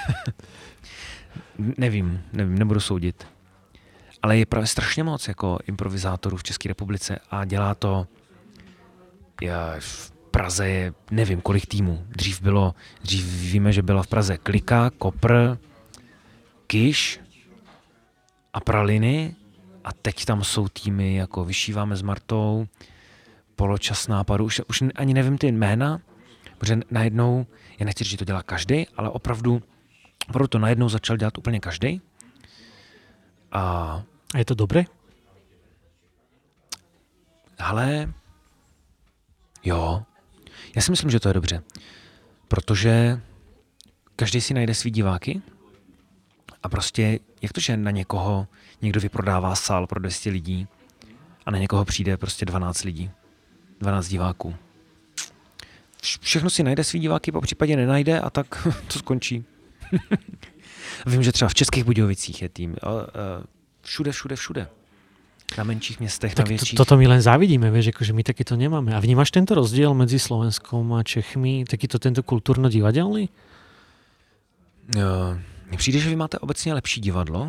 nevím, nevím, nebudu soudit. Ale je právě strašně moc jako improvizátorů v České republice a dělá to já, v Praze je nevím kolik týmů. Dřív bylo, dřív víme, že byla v Praze Klika, Kopr, Kyš a Praliny a teď tam jsou týmy jako Vyšíváme s Martou, Poločas nápadu, už, už ani nevím ty jména, protože najednou, já nechci říct, že to dělá každý, ale opravdu, opravdu to najednou začal dělat úplně každý. A, a je to dobré? Ale jo, já si myslím, že to je dobře, protože každý si najde svý diváky a prostě, jak to, že na někoho někdo vyprodává sál pro dvě stě lidí a na někoho přijde prostě dvanáct lidí, dvanáct diváků. Všechno si najde svý diváky, po případě nenajde a tak to skončí. Vím, že třeba v Českých Budějovicích je tým. Všude, všude, všude. Na menších městech, tak na větších. To, toto my len závidíme, vieš, akože my taky to nemáme. A vnímaš tento rozdiel medzi Slovenskom a Čechmi, takýto tento kultúrno-divadelný? Mně přijde, že vy máte obecně lepší divadlo.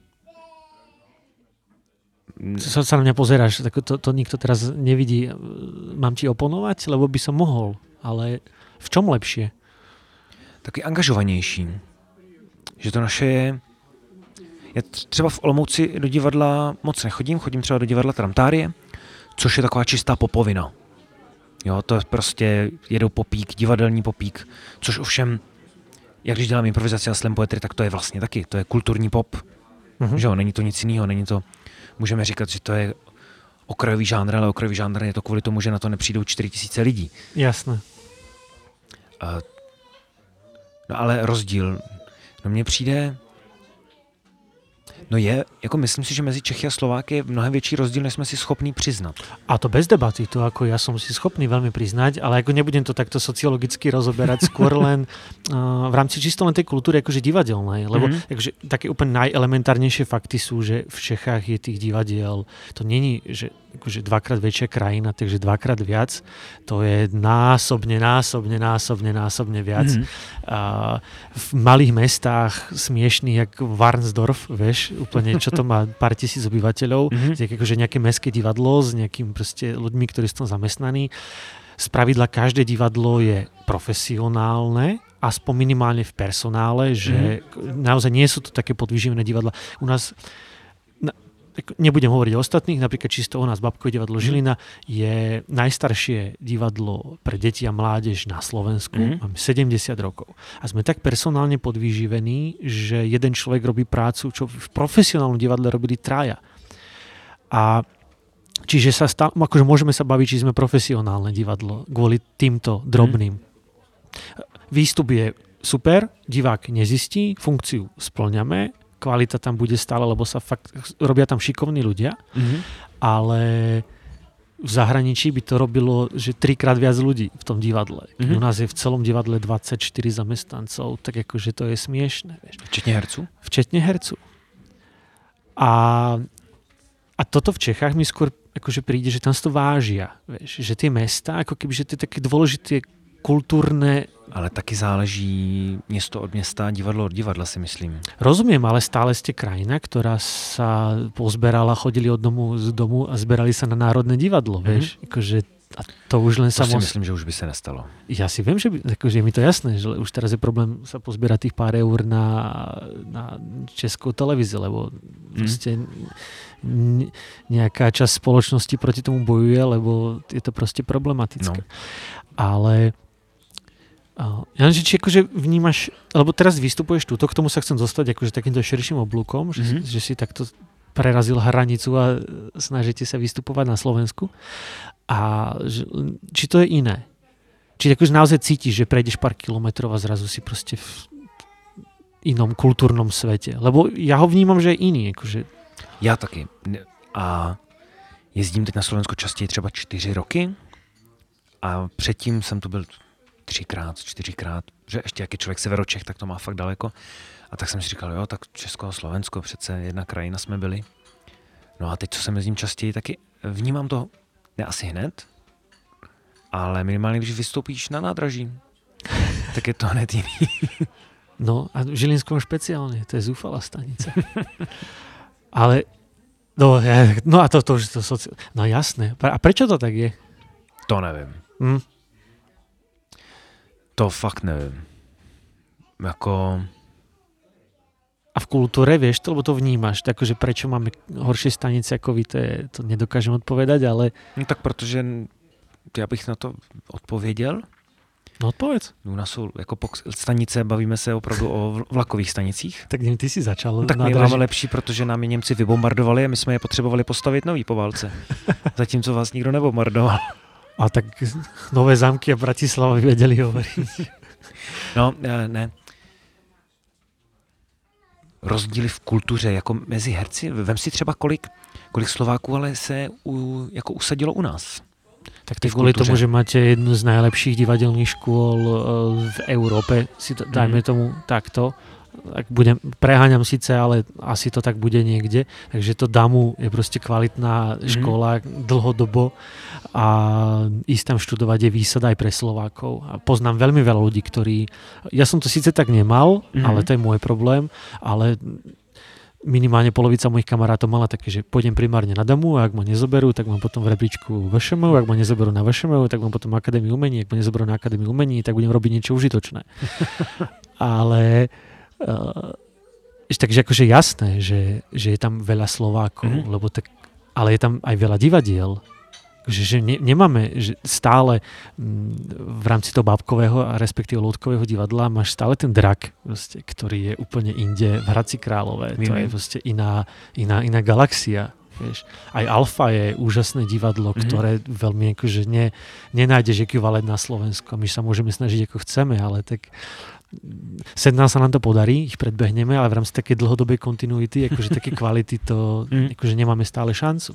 Sa, sa na mňa pozeráš, tak to, to nikto teraz nevidí. Mám ti oponovať, lebo by som mohol, ale v čom lepšie? Taky angažovanější. Že to naše je... Já třeba v Olomouci do divadla moc nechodím, chodím třeba do divadla Tramtárie, což je taková čistá popovina. Jo, to je prostě jedou popík, divadelní popík, což ovšem, jak když dělám improvizaci a slam poetry, tak to je vlastně taky, to je kulturní pop. Mm-hmm. Že jo, není to nic jiného, není to, můžeme říkat, že to je okrajový žánr, ale okrajový žánr je to kvůli tomu, že na to nepřijdou čtyři tisíce lidí. Jasné. Uh, no ale rozdíl, no mně přijde, no je, jako myslím si, že mezi Čechy a Slováky je mnohem větší rozdíl, než jsme si schopní přiznat. A to bez debaty, to ako ja som si schopný veľmi priznať, ale ako nebudem to takto sociologicky rozoberať, skôr len uh, v rámci čisto len tej kultúry akože divadelnej, lebo mm-hmm. akože, také úplne najelementárnejšie fakty sú, že v Čechách je tých divadiel, to není, že akože dvakrát väčšia krajina, takže dvakrát viac, to je násobne, násobne, násobne, násobne viac. Mm-hmm. Uh, v malých mestách smiešných, jak Varnsdorf, vieš, úplne, čo to má pár tisíc obyvateľov, mm-hmm. akože nejaké mestské divadlo s nejakým proste ľuďmi, ktorí sú tam zamestnaní. Spravidla každé divadlo je profesionálne, aspoň minimálne v personále, že mm-hmm. naozaj nie sú to také podvyživené divadla. U nás nebudem hovoriť o ostatných, napríklad čisto u nás Babkové divadlo Žilina je najstaršie divadlo pre deti a mládež na Slovensku. Mm-hmm. Máme sedemdesiat rokov. A sme tak personálne podvyživení, že jeden človek robí prácu, čo v profesionálnom divadle robili traja. A čiže sa stále, akože môžeme sa baviť, či sme profesionálne divadlo kvôli týmto drobným. Mm-hmm. Výstup je super, divák nezistí, funkciu spĺňame, kvalita tam bude stále, lebo sa fakt robia tam šikovní ľudia, mm-hmm. ale v zahraničí by to robilo, že trikrát viac ľudí v tom divadle. Mm-hmm. U nás je v celom divadle dvadsaťštyri zamestnancov, tak akože to je smiešné. Vieš. Včetne hercu? Včetne hercu. A, a toto v Čechách mi skôr akože príde, že tam si to vážia. Vieš, že tie mesta, ako keby, že to je také dôležité kultúrne. Ale taky záleží město od města, divadlo od divadla, si myslím. Rozumiem, ale stále ste krajina, ktorá sa pozberala, chodili od domu z domu a zberali sa na Národné divadlo, mm-hmm. vieš. Akože, a to už len to sa si mos... myslím, že už by sa nestalo. Ja si viem, že by, akože je mi to jasné, že už teraz je problém sa pozbierať tých pár eur na, na Českou televíziu, lebo mm. proste nejaká časť spoločnosti proti tomu bojuje, lebo je to proste problematické. No. Ale Janži, či akože vnímaš, alebo teraz vystupuješ túto, k tomu sa chcem dostať akože takýmto širším oblúkom, že, mm-hmm. že si takto prerazil hranicu a snažíte sa vystupovať na Slovensku. A že, či to je iné? Či akože naozaj cítiš, že prejdeš pár kilometrov a zrazu si proste v inom kultúrnom svete? Lebo ja ho vnímam, že je iný. Akože... Já taky. A jezdím teď na Slovensku častěji třeba čtyři roky a předtím jsem tu byl třikrát, čtyřikrát, že ještě jak je člověk severočech, tak to má fakt daleko. A tak jsem si říkal, jo, tak Česko a Slovensko, přece jedna krajina jsme byli. No a teď, co jsem jezdím častěji, taky vnímám to, ne asi hned, ale minimálně, když vystoupíš na nádraží, tak je to hned jiný. No a v Žilinskom špeciálne, to je zúfalá stanica. Ale, no, ja, no a to, to, to, to no jasné. A prečo to tak je? To nevím. Hm? To fakt nevím. Jako... A v kultúre, vieš to, lebo to vnímaš, takže prečo máme horšie stanice ako vy, to, je, to nedokážem odpovedať, ale... No tak protože já bych na to odpověděl. No odpověď. U nás jsou jako stanice, bavíme se opravdu o vlakových stanicích. Tak ty si začal. No, tak my máme lepší, protože nám je Němci vybombardovali a my jsme je potřebovali postavit nový po válce. Zatímco vás nikdo nebombardoval. A tak Nové Zámky a Bratislava vedeli hovoriť. No, ne. Rozdíly v kultuře, jako mezi herci. Vem si třeba, kolik, kolik Slováků ale se u, jako usadilo u nás. Tak to kvôli tomu, že máte jednu z najlepších divadelných škôl v Európe, si to, dajme tomu takto, ak budem, preháňam síce, ale asi to tak bude niekde, takže to Damu je proste kvalitná škola mm. dlhodobo a ísť tam študovať je výsada aj pre Slovákov. A poznám veľmi veľa ľudí, ktorí, ja som to síce tak nemal, mm. ale to je môj problém, ale minimálne polovica mojich kamarátov mala také, že pôjdem primárne na Damu a ak ma nezoberú, tak mám potom v rebríčku vé š em ú, ak ma nezoberú na vé š em ú, tak mám potom Akadémiu umení, ak ma nezoberú na Akadémiu umení, tak budem robiť niečo užitočné. Ale uh, takže akože jasné, že, že je tam veľa Slovákov, mm-hmm. lebo tak, ale je tam aj veľa divadiel. Že, že ne, nemáme že stále m, v rámci toho bábkového a respektíve loutkového divadla máš stále ten drak, proste, ktorý je úplne inde v Hradci Králové. To je proste iná, iná, iná galaxia. Vieš. Aj Alfa je úžasné divadlo, mm-hmm. ktoré veľmi akože ne, nenájdeš ekvivalent na Slovensku. My sa môžeme snažiť ako chceme, ale tak sem nám sa nám to podarí, ich predbehneme, ale v rámci takej dlhodobej kontinuity, akože také kvality to mm. akože nemáme stále šancu.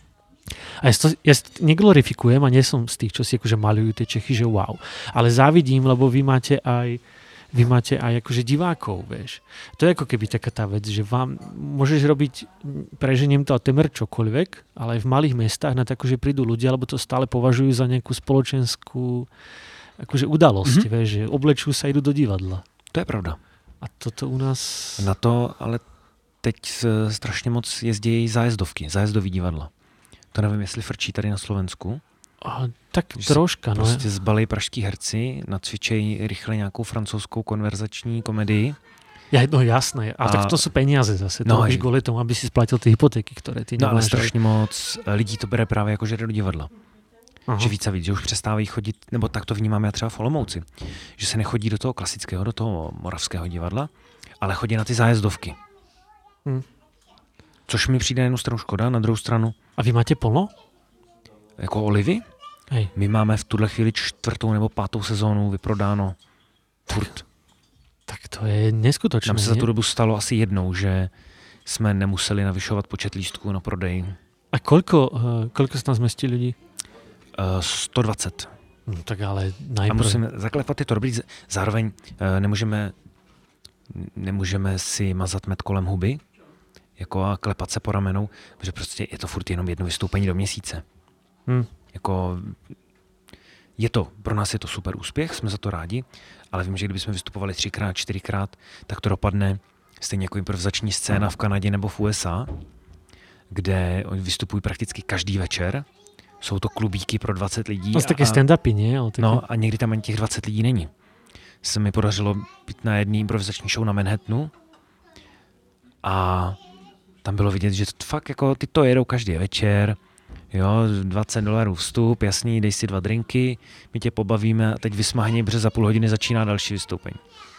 A ja, to, ja neglorifikujem a nie som z tých, čo si akože malujú tie Čechy, že wow. Ale závidím, lebo vy máte aj vy máte aj akože divákov, vieš. To je ako keby taká tá vec, že vám môžeš robiť, preženiem to a temer čokoľvek, ale aj v malých mestách na to akože prídu ľudia, lebo to stále považujú za nejakú spoločenskú akože udalosť, mm-hmm. vieš, že oblečú sa, idú do divadla. To je pravda. A toto u nás... Na to ale teď strašně moc jezdí zájezdovky, zájezdový divadla. To nevím, jestli frčí tady na Slovensku. A, tak že troška, no. Prostě zbalí pražský herci, nacvičejí rychle nějakou francouzskou konverzační komedii. Ja, no jasné, a, a tak to sú peniaze zase. No, to robíš kvôli tomu, aby si splatil tie hypotéky, ktoré ty no nemáš. No ale strašně moc lidí to bere právě jako, že jde do divadla. Aha. Že víc a víc, že už přestávají chodit, nebo tak to vnímám já třeba v Olomouci, že se nechodí do toho klasického, do toho moravského divadla, ale chodí na ty zájezdovky. Hmm. Což mi přijde na jednu stranu škoda, na druhou stranu. A vy máte plno? Jako Olivy? Hej. My máme v tuhle chvíli čtvrtou nebo pátou sezónu vyprodáno furt. Tak to je neskutočné. Nám se za tu dobu stalo asi jednou, že jsme nemuseli navyšovat počet lístků na prodej. A koľko, uh, koľko sa tam zmestí ľudí? Uh, sto dvacet. No, tak ale najprv... A musíme zaklepat je to dobrý. Zároveň uh, nemůžeme, nemůžeme si mazat med kolem huby jako a klepat se po ramenou, protože prostě je to furt jenom jedno vystoupení do měsíce. Hmm. Jako, je to, pro nás je to super úspěch, jsme za to rádi, ale vím, že kdybychom vystupovali třikrát, čtyřikrát, tak to dopadne stejně jako improvizační scéna v Kanadě nebo v U S A, kde oni vystupují prakticky každý večer. Jsou to klubíky pro dvacet lidí. To jsou taky stand-upy, ne? Taky... No a někdy tam ani těch dvacet lidí není. Se mi podařilo být na jedné improvizační show na Manhattanu a tam bylo vidět, že to fakt jako ty to jedou každý večer, jo, dvacet dolarů vstup, jasný, dej si dva drinky, my tě pobavíme a teď vysmahni, protože za půl hodiny začíná další vystoupení.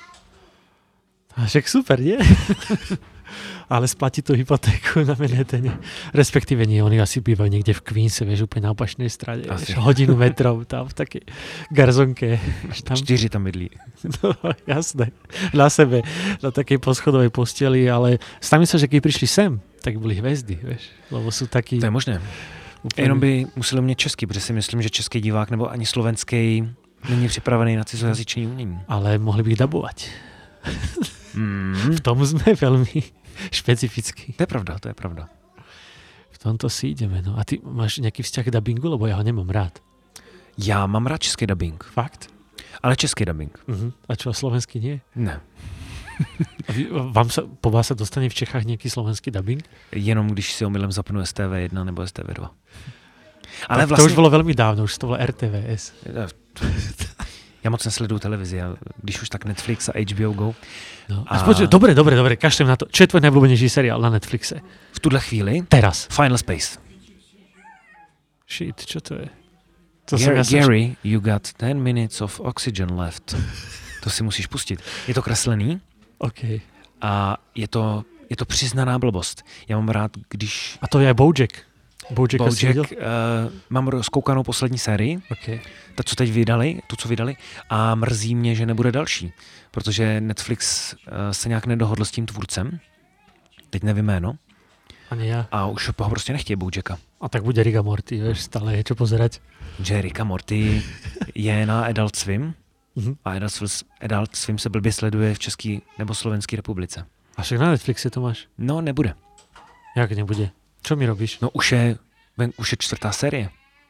A však super, nie? Ale splatí tú hypotéku na Manhattane. Respektíve nie, oni asi bývajú niekde v Queense, vieš, úplne na opačnej strane. Vieš, hodinu metrov tam v takej garzonke. Tam... Čtyři tam bydlí. No, jasné. Na sebe, na takej poschodovej posteli, ale stavím sa, že keď prišli sem, tak byli hvězdy, vieš, lebo sú takí... To je možné. Úplně... Jenom by museli umět česky, protože si myslím, že český divák nebo ani slovenský není připravený na cizojazyčný umění. Ale mohli by ich dabovať. Mm. V tom sme veľmi špecifickí. To je pravda, to je pravda. V tomto si ideme. No. A ty máš nejaký vzťah k dabingu, lebo ja ho nemám rád. Já mám rád český dabing. Fakt? Ale český dabing. Uh-huh. A čo, slovenský nie? Ne. A vy, vám sa, po vás sa dostane v Čechách nejaký slovenský dabing? Jenom když si omylem zapnu S T V jedna nebo S T V dva. Ale tak vlastně... To už bylo velmi dávno, už to bylo R T V S. Já moc nesleduju televizi, a když už tak Netflix a H B O Go. No. A... Počuť, dobre, dobre, dobre, kašlem na to. Čo je tvoj najobľúbenejší seriál na Netflixe? V tuhle chvíli? Teraz. Final Space. Shit, čo to je? To Gary, ja Gary som... you got ten minutes of oxygen left. To si musíš pustit. Je to kreslený. Okay. A je to, je to přiznaná blbost. Já mám rád, když... A to je aj Bojack. Bojack, Bojack uh, mám zkoukanou poslední sérii, okay. Ta, co teď vydali, tu, co vydali, a mrzí mě, že nebude další, protože Netflix uh, se nějak nedohodl s tím tvůrcem, teď nevím jméno, ani já. A už ho prostě nechtějí Bojacka. A tak bude Rick a Morty, vieš, stále je čo pozerať. Že Rick a Morty je na Adult Swim, Mhm. A Adult, Adult Swim se blbě sleduje v České nebo Slovenské republice. A však na Netflixe to máš? No, nebude. Jak nebude? Čo mi robíš? No, už je, už je čtvrtá série.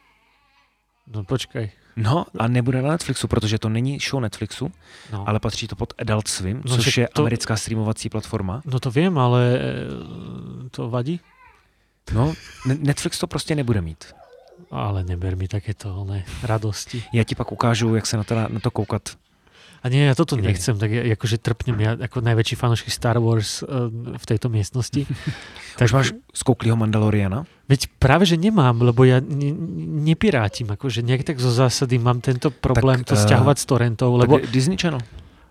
No počkaj. No, a nebude na Netflixu, protože to není show Netflixu, No. ale patří to pod Adult Swim, No, což že je to- americká streamovací platforma. No to viem, ale e, to vadí? No, Ne- Netflix to prostě nebude mít. Ale neber mi takéto ne, radosti. Já ti pak ukážu, jak se na to, na to koukat. A nie, ja toto Kedy? nechcem, tak ja, akože trpnem, ja ako najväčší fanúšik Star Wars uh, v tejto miestnosti. Tak máš skouklýho Mandaloriana? Veď práve, že nemám, lebo ja ne, nepirátim, akože nejak tak zo zásady mám tento problém Tak, to eh, stiahovať z torrentov, lebo Tak Disney Channel.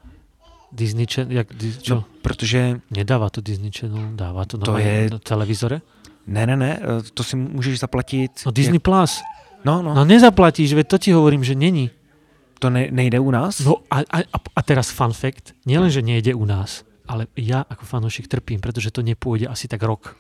Disney Channel, jak, Dis- čo? No, protože, Nedáva to Disney Channel, dáva to, To na, je- na televízore? ne, ne, ne, eh, to si můžeš zaplatit. No Disney Jak, Plus. no, no, No nezaplatíš, veď to ti hovorím, že není. to ne, nejde u nás. No a, a, a teraz fun fact, nielen, že nejde u nás, ale ja ako fanúšik trpím, pretože to nepôjde asi tak rok.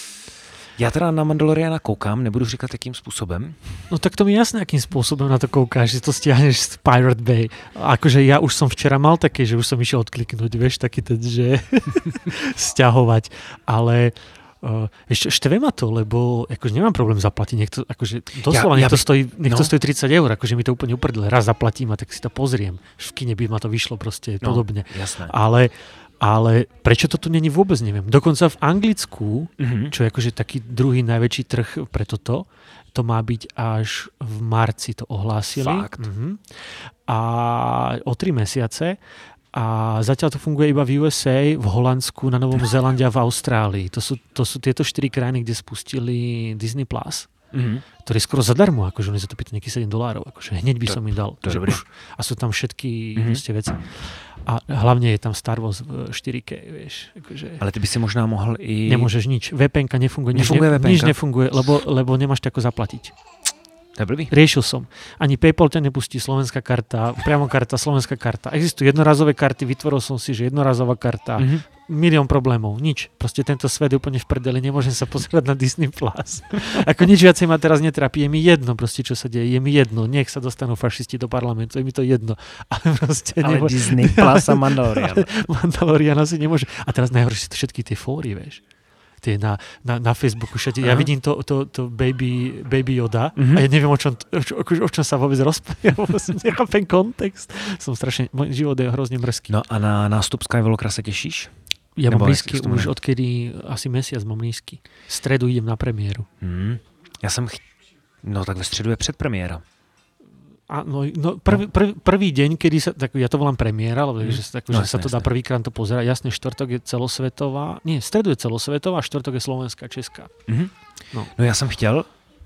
Já teda na Mandaloriana koukám, nebudu říkat jakým způsobem. No tak to mi jasné, akým spôsobom na to koukáš, že to stiahneš z Pirate Bay. A akože ja už som včera mal také, že už som išiel odkliknúť, vieš, taký ten, že stiahovať. Ale uh, ešte štve ma to, lebo akože nemám problém zaplatiť. Niekto, akože doslova, Ja- ja nech to by- stojí, nech to no. stojí tridsať eur, akože mi to úplne uprdle. Raz zaplatím a tak si to pozriem. V kine by ma to vyšlo proste No, podobne. jasné. Ale, ale prečo to tu není, vôbec neviem. Dokonca v Anglicku, Mhm. čo je akože taký druhý najväčší trh pre toto, to má byť až v marci, to ohlásili. Fakt? Mhm. A o tri mesiace. A zatiaľ to funguje iba v U S A, v Holandsku, na Novom Zélande a v Austrálii. To sú, to sú tieto štyri krajiny, kde spustili Disney Plus, Mhm. ktorý je skoro zadarmo, akože oni za to pýtajú nejakých sedem dolárov, akože hneď by To- som im dal. to je že dobré. už- A sú tam všetky Mhm. proste veci. A hlavne je tam Star Wars v štyri ká, vieš. Akože Ale ty by si možná mohl i... nemôžeš nič. vé pé enka nefunguje. Nič, Nefunguje ne, vé pé enka? nič nefunguje, lebo, lebo nemáš tako zaplatiť. To je blbý. Riešil som. Ani PayPal ťa nepustí, slovenská karta, priamo karta, slovenská karta. Existujú jednorazové karty, vytvoril som si, že jednorazová karta, Mhm. milión problémov, nič. Proste tento svet je úplne v prdeli, nemôžem sa pozerať na Disney Plus. Ako nič viacej ma teraz netrápi, je mi jedno proste, čo sa deje, je mi jedno, nech sa dostanú fašisti do parlamentu, je mi to jedno. Ale proste Ale nemô- Disney Plus a Mandalorian. Mandaloriana si nemôže. A teraz najhoršie sú všetky tie fóry, vieš. Tie na, na, na Facebooku všade. Ja Aha. vidím to, to, to baby, baby Yoda Mhm. a ja neviem, o čom, o, čom- o čom sa vôbec rozpráva. Ja vôbec nechápem kontext. Som strašne, môj život je hrozne mrzký. No a na nástup Skywalkera se těšíš? Ja Nebo mám jak lístky sa to už jmenuje? odkedy asi mesiac mám lístky. V stredu idem na premiéru. Hmm. Já jsem... Ch... No tak ve středu je předpremiéra. A no, no, prvý, prvý, prvý deň, kedy sa, tak ja to volám premiéra, lebo Mm. že, sa- tak, No, že sa jasné, to dá jasné. prvýkrát to pozerať. Jasne, štvrtok je celosvetová, nie, stredu je celosvetová, štvrtok je slovenská, česká. Mhm. No. No já jsem chtěl,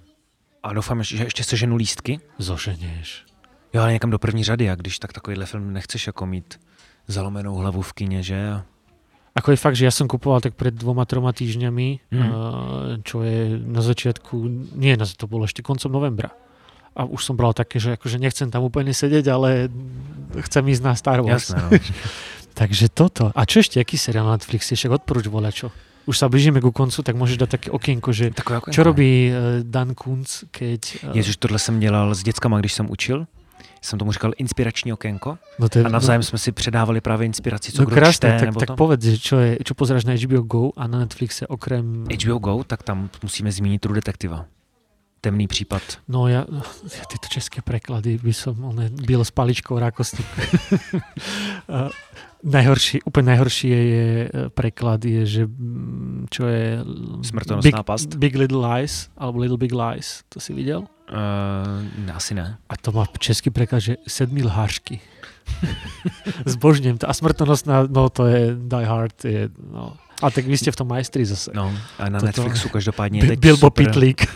a doufám, že ještě seženu lístky, Zoženieš. jo, ale někam do první řady, a když tak takovýhle film nechceš jako mít zalomenou hlavu v kině, že? A... Ako je fakt, že ja som kupoval tak pred dvoma, troma týždňami, Mhm. mm. čo je na začiatku, nie, na- to bolo ešte koncom novembra. A už som bral také, že akože nechcem tam úplne sedieť, ale chcem ísť na Star Wars. Jasné, no. Takže toto. A čo ešte, aký seriál na Netflixe? Však odporúč voľačo. Už sa blížime ku koncu, tak môžeš dať také okienko, že Takové jako čo robí uh, Dan Kunz, keď... Uh, Ježiš, tohle jsem dělal s dětskama, když jsem učil. Jsem tomu říkal inspirační okénko. no to je, A navzájem jsme si předávali právě inspiraci, co no, kdo krásne, čte, tak, nebo tak to. povedz, že čo, je, čo pozeráš na H B O Go a na Netflixe okrem... H B O Go, tak tam musíme zmínit True Detektiva. Temný případ. No ja, ja tieto české preklady by som on, bil s paličkou rákosník. uh, najhorší, úplne najhorší je, je preklad je, že mm, čo je Smrtonosná Big, past. Big Little Lies alebo Little Big Lies. To si videl? Uh, asi ne. A to má český preklad, že sedmi lhářky. Zbožňujem to. A smrtonosná, no to je Die Hard. Je, no. A tak vy ste v tom majstri zase. No, a na Toto- Netflixu každopádně je Bi- teď Bilbo super, Pitlík.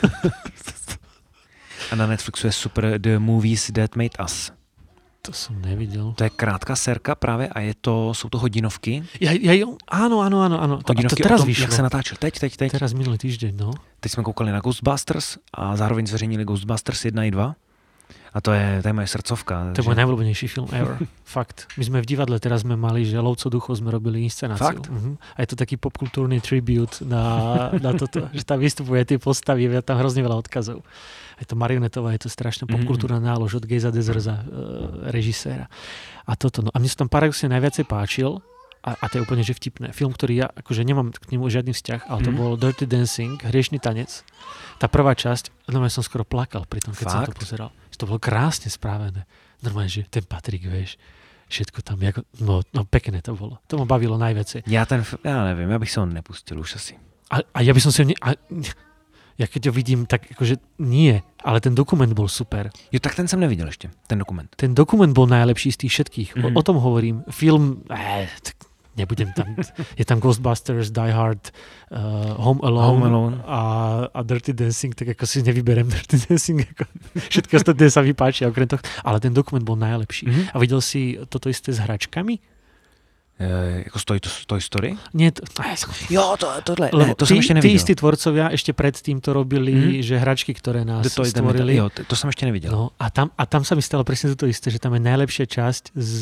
a na Netflixu je super The Movies That Made Us. To som nevidel. To je krátká serka právě a je to, jsou to hodinovky. Ja, ja, áno, áno, áno. áno. To, a to Hodinovky teraz o tom, vyšlo. jak se natáčel. Teď, teď, teď. Teraz minulý týždeň, no. Teď jsme koukali na Ghostbusters a zároveň zveřejnili Ghostbusters jedna i dva. A to je, to je moje srdcovka. To je môj najobľúbenejší film ever. Fakt. My sme v divadle teraz sme mali, že Lovco duchov sme robili inscenáciu. Fakt? Uh-huh. A je to taký popkultúrny tribute na, na toto, že tam vystupuje tie postavy, je tam hrozne veľa odkazov. Je to marionetová, je to strašná popkultúrna nálož od Geza Dezerza, uh, režiséra. A toto, no a mne sa tam paradoxne najviacej páčil, a, a to je úplne že vtipné. Film, ktorý ja akože nemám k nemu žiadny vzťah, ale to mm. bol Dirty Dancing, Hriešny tanec. Tá prvá časť, normálne som skoro plakal pri tom, keď Fakt? som to pozeral. To bolo krásne správené. Normálne, že ten Patrik, vieš, všetko tam, jako, no, no pekné to bolo. To ma bavilo najviacej. Ja ten, ja neviem, ja bych sa ho nepustil už asi. A, a ja by som si ho ne... A, ja keď ho vidím, tak akože nie, ale ten dokument bol super. Jo, tak ten som nevidel ešte, ten dokument. Ten dokument bol najlepší z tých všetkých. Mm. O, o tom hovorím. Film, eh, tak nebudem tam, je tam Ghostbusters, Die Hard, uh, Home Alone, Home Alone. A, a Dirty Dancing, tak ako si nevyberem Dirty Dancing, ako všetko ostatné sa mi páči, okrem toho, ale ten dokument bol najlepší. Mm-hmm. A videl si toto isté s hračkami? Uh, ako Toy, Toy Story? Nie, to, jo, to, tohle, ne, to som tí, ešte nevidel. Tí istí tvorcovia ešte predtým to robili, mm-hmm. že hračky, ktoré nás to stvorili. Jo, to, to som ešte nevidel. No, a, tam, a tam sa mi stalo presne to isté, že tam je najlepšia časť z,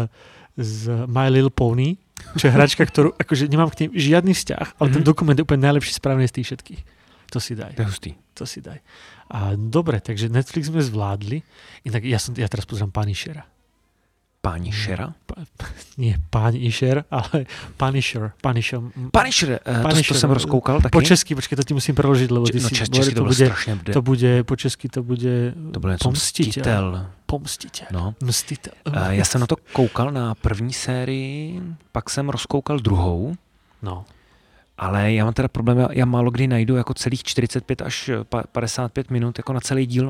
z My Little Pony, čo je hračka, ktorú akože nemám k nej žiadny vzťah, ale mm-hmm. ten dokument je úplne najlepší správne z tých všetkých. To si daj. To je hustý. To si daj. A dobre, takže Netflix sme zvládli. Inak ja, som, ja teraz pozerám Punishera. Punishera? Pa, nie Punisher, ale Punisher. Punisher, Punisher, uh, Punisher. To, to som rozkoukal taky. Po česky, počkej, to ti musím preložiť, lebo ty no, si... Čes, česky to, to bude strašne. To bude, po česky to bude... To bude pomstiteľ. Mstitel. Pomstiteľ. No. Mstitel. Uh, já jsem na to koukal na první sérii, pak jsem rozkoukal druhou. No. Ale já mám teda problém, já, já málo kdy najdu jako celých čtyřicet pět až padesát pět minut jako na celý díl.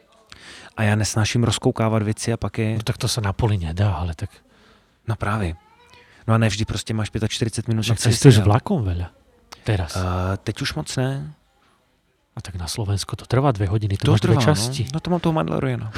A já nesnáším rozkoukávat věci a pak je... No tak to se na poli nedá, ale tak... No právě. No a ne vždy prostě máš čtyřicet pět minut. Však cestuješ vlakom veľa. Teraz. Uh, teď už moc ne. A tak na Slovensku to trvá dvě hodiny, to, to máš trvá, dvě časti. No. no to mám toho Mandaloriana.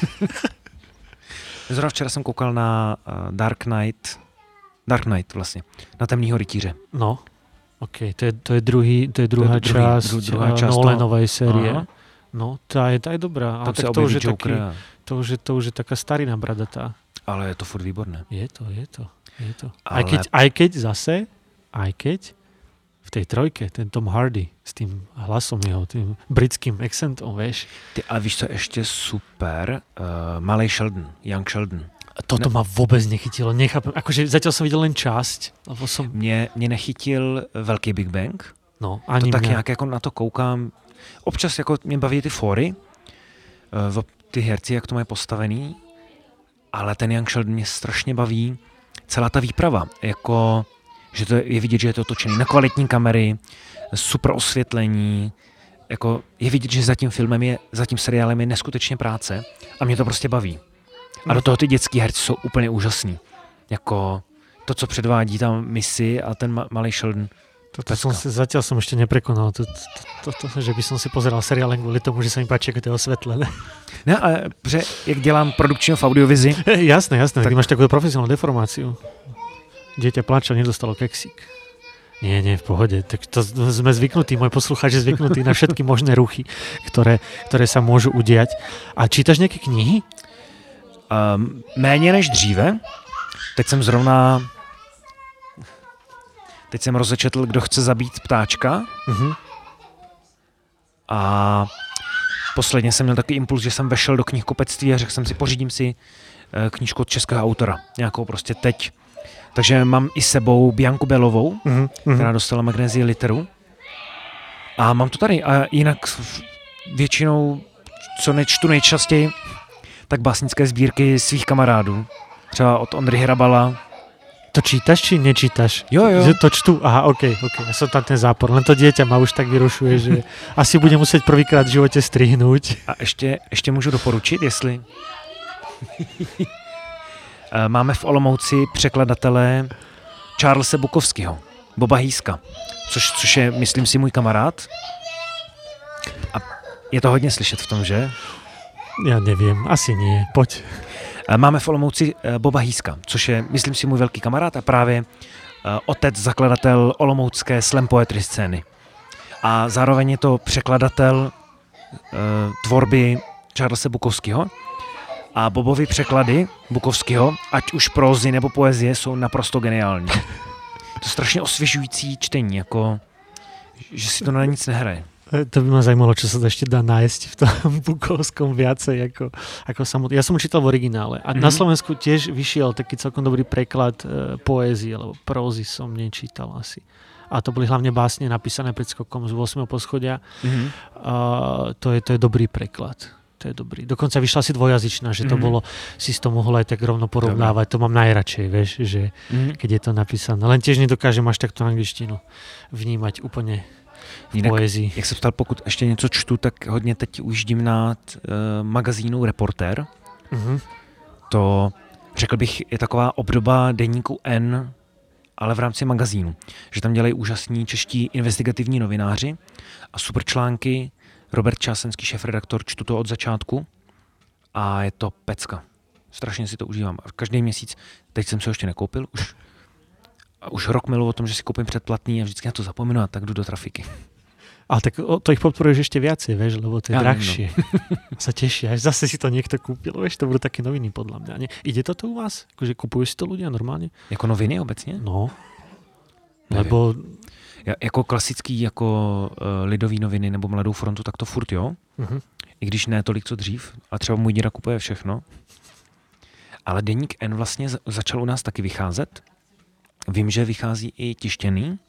Zrovna včera jsem koukal na uh, Dark Knight. Dark Knight vlastně. Na Temnýho rytíře. No, ok. To je, to je, druhý, to je druhá to je část, druhý, druhá část Nolanovej série. Aha. No, tá je, tá je dobrá. Tam ale tak to už, je taký, to, už je, to už je taká starina bradatá. Ale je to furt výborné. Je to, je to. Je to. Ale... Aj, keď, aj keď zase, aj keď v tej trojke, ten Tom Hardy s tým hlasom jeho, tým britským accentom, vieš. Ty, ale víš, co je ešte super? Uh, Malej Sheldon, Young Sheldon. Toto ne... ma vôbec nechytilo, nechápem. Akože zatiaľ som videl len časť. Lebo som... Mne, mne nechytil Velký Big Bang. No, ani to tak mňa. nějak jako na to koukám. Občas jako mě baví ty fóry, uh, ty herci, jak to mají postavený, ale ten Young Sheldon mě strašně baví. Celá ta výprava, jako, že to je vidět, že je to točený na kvalitní kamery, super osvětlení, jako je vidět, že za tím filmem je, za tím seriálem je neskutečně práce a mě to prostě baví. A do toho ty dětský herci jsou úplně úžasný. Jako to, co předvádí tam Missy a ten ma- malý Sheldon. Toto som si, zatiaľ som ešte neprekonal, to, to, to, to, že by som si pozeral seriál len kvôli tomu, že sa mi páči, ako to je osvetlené. Ne, ale že jak dělám produkčního v audiovizi. Jasné, jasné, tak ty máš takú profesionálnu deformáciu. Dieťa plača, nedostalo keksík. Nie, nie, v pohode. Tak to sme zvyknutí, môj poslucháč je zvyknutý na všetky možné ruchy, ktoré, ktoré sa môžu udiať. A čítaš nejaké knihy? Um, méně než dříve. Teď jsem zrovna Teď jsem rozečetl, Kdo chce zabít ptáčka. Uh-huh. A posledně jsem měl takový impuls, že jsem vešel do knihkupectví a řekl jsem si, pořídím si knížku od českého autora. Nějakou prostě teď. Takže mám i sebou Bianku Belovou, uh-huh. která dostala Magnézii literu. A mám to tady. A jinak většinou, co nečtu nejčastěji, tak básnické sbírky svých kamarádů. Třeba od Ondry Hrabala. To čítaš, či nečítaš? Jo, jo. Že to čtu? Aha, okej, okay, okej. Okay. Ja som tam ten zápor. Len to dieťa ma už tak vyrušuje, že asi bude musieť prvýkrát v živote strihnúť. A ještě, ještě můžu doporučit, jestli... Máme v Olomouci překladatele Charlesa Bukovského, Boba Hýska, což, což je, myslím si, můj kamarád. A je to hodně slyšet v tom, že? Ja neviem, asi nie. Poď. Máme v Olomouci Boba Hýska, což je, myslím si, můj velký kamarád a právě otec, zakladatel olomoucké slam poetry scény. A zároveň je to překladatel tvorby Charlesa Bukowskiho a Bobovy překlady Bukowskiho, ať už prózy nebo poezie, jsou naprosto geniální. To je strašně osvěžující čtení, jako, že si to na nic nehraje. To by ma zajímalo, čo sa to ešte dá nájsť v tom Bukovskom viacej ako, ako samotný. Ja som ho čítal v originále a mm-hmm. na Slovensku tiež vyšiel taký celkom dobrý preklad e, poézie, alebo prózy som nečítal asi. A to boli hlavne básne napísané pred skokom z ôsmeho poschodia. Mm-hmm. A to je, to je dobrý preklad. To je dobrý. Dokonca vyšla si dvojazyčná, že to mm-hmm. bolo, si s to mohol aj tak rovno porovnávať. To mám najradšej, vieš, že mm-hmm. keď je to napísané. Len tiež nedokážem až takto angličtinu vnímať úplne v Jinak, poezii. Jak se ptal, pokud ještě něco čtu, tak hodně teď ujíždím na uh, magazínu Reportér. Mm-hmm. To, řekl bych, je taková obdoba deníku N, ale v rámci magazínu. Že tam dělají úžasní čeští investigativní novináři a super články. Robert Čásenský, šéfredaktor, čtu to od začátku a je to pecka. Strašně si to užívám. Každý měsíc, teď jsem se ho ještě nekoupil, už, už rok miluji o tom, že si koupím předplatný a vždycky na to zapomenu a tak jdu do trafiky. Ale tak to ich podporuješ ešte viacej, vieš, lebo to je ja, drahšie. No. Sa tešia, až zase si to niekto kúpil, vieš, to budú také noviny podľa mňa. Nie? Ide to tu u vás? Akože kupujú si to ľudia normálne? Jako noviny obecně? No. Nevím. Lebo... Ja, jako klasický, jako uh, lidový noviny nebo Mladou frontu, tak to furt jo. Uh-huh. I když ne tolik, co dřív. A třeba můj děda kupuje všechno. Ale deník N vlastně začal u nás taky vycházet. Vím, že vychází i tištěný.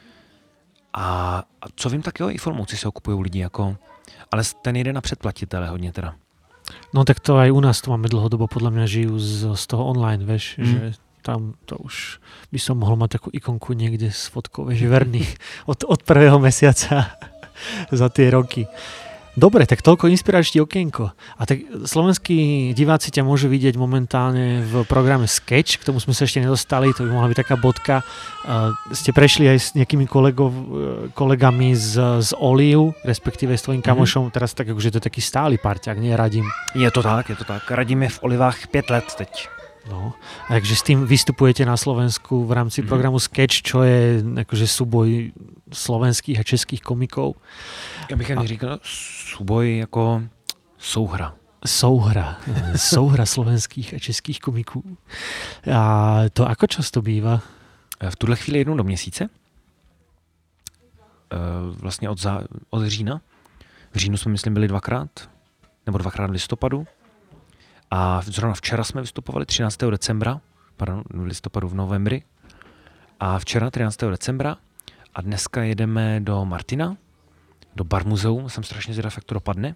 A, a co vím, tak jo, i formouci se ho kupují lidi, jako, ale ten jde na předplatitele hodně teda. No tak to aj u nás to máme dlhodobo, podľa mňa žijú z, z toho online, vieš, mm. že tam to už by som mohol mať takú ikonku niekde s fotkou, vieš, verný od, od prvého mesiaca za tie roky. Dobre, tak toľko inspiračný okienko. A tak slovenskí diváci ťa môžu vidieť momentálne v programe Sketch, k tomu sme sa ešte nedostali, to by mohla byť taká bodka. Uh, ste prešli aj s nejakými kolegov, kolegami z, z Oliu, respektíve s tvojím kamošom, mm-hmm. teraz tak akože to je taký stály parťák, nie Radim. Je to tak, je to tak. Radim je v Olivách pět let teď. No, takže s tým vystupujete na Slovensku v rámci mm-hmm. programu Sketch, čo je akože súboj slovenských a českých komikov. Já bych ani říkal súboj jako souhra. Souhra. Souhra slovenských a českých komiků. A to ako často býva? V tuhle chvíli jednou do měsíce. Vlastně od, zá, od října. V říjnu jsme, myslím, byli dvakrát. Nebo dvakrát v listopadu. A zrovna včera jsme vystupovali třináctého decembra. Pardon, v listopadu, v novembri. A včera třináctého decembra. A dneska jedeme do Martina. Do Bar Muzeum, jsem strašně zvědav, jak to dopadne,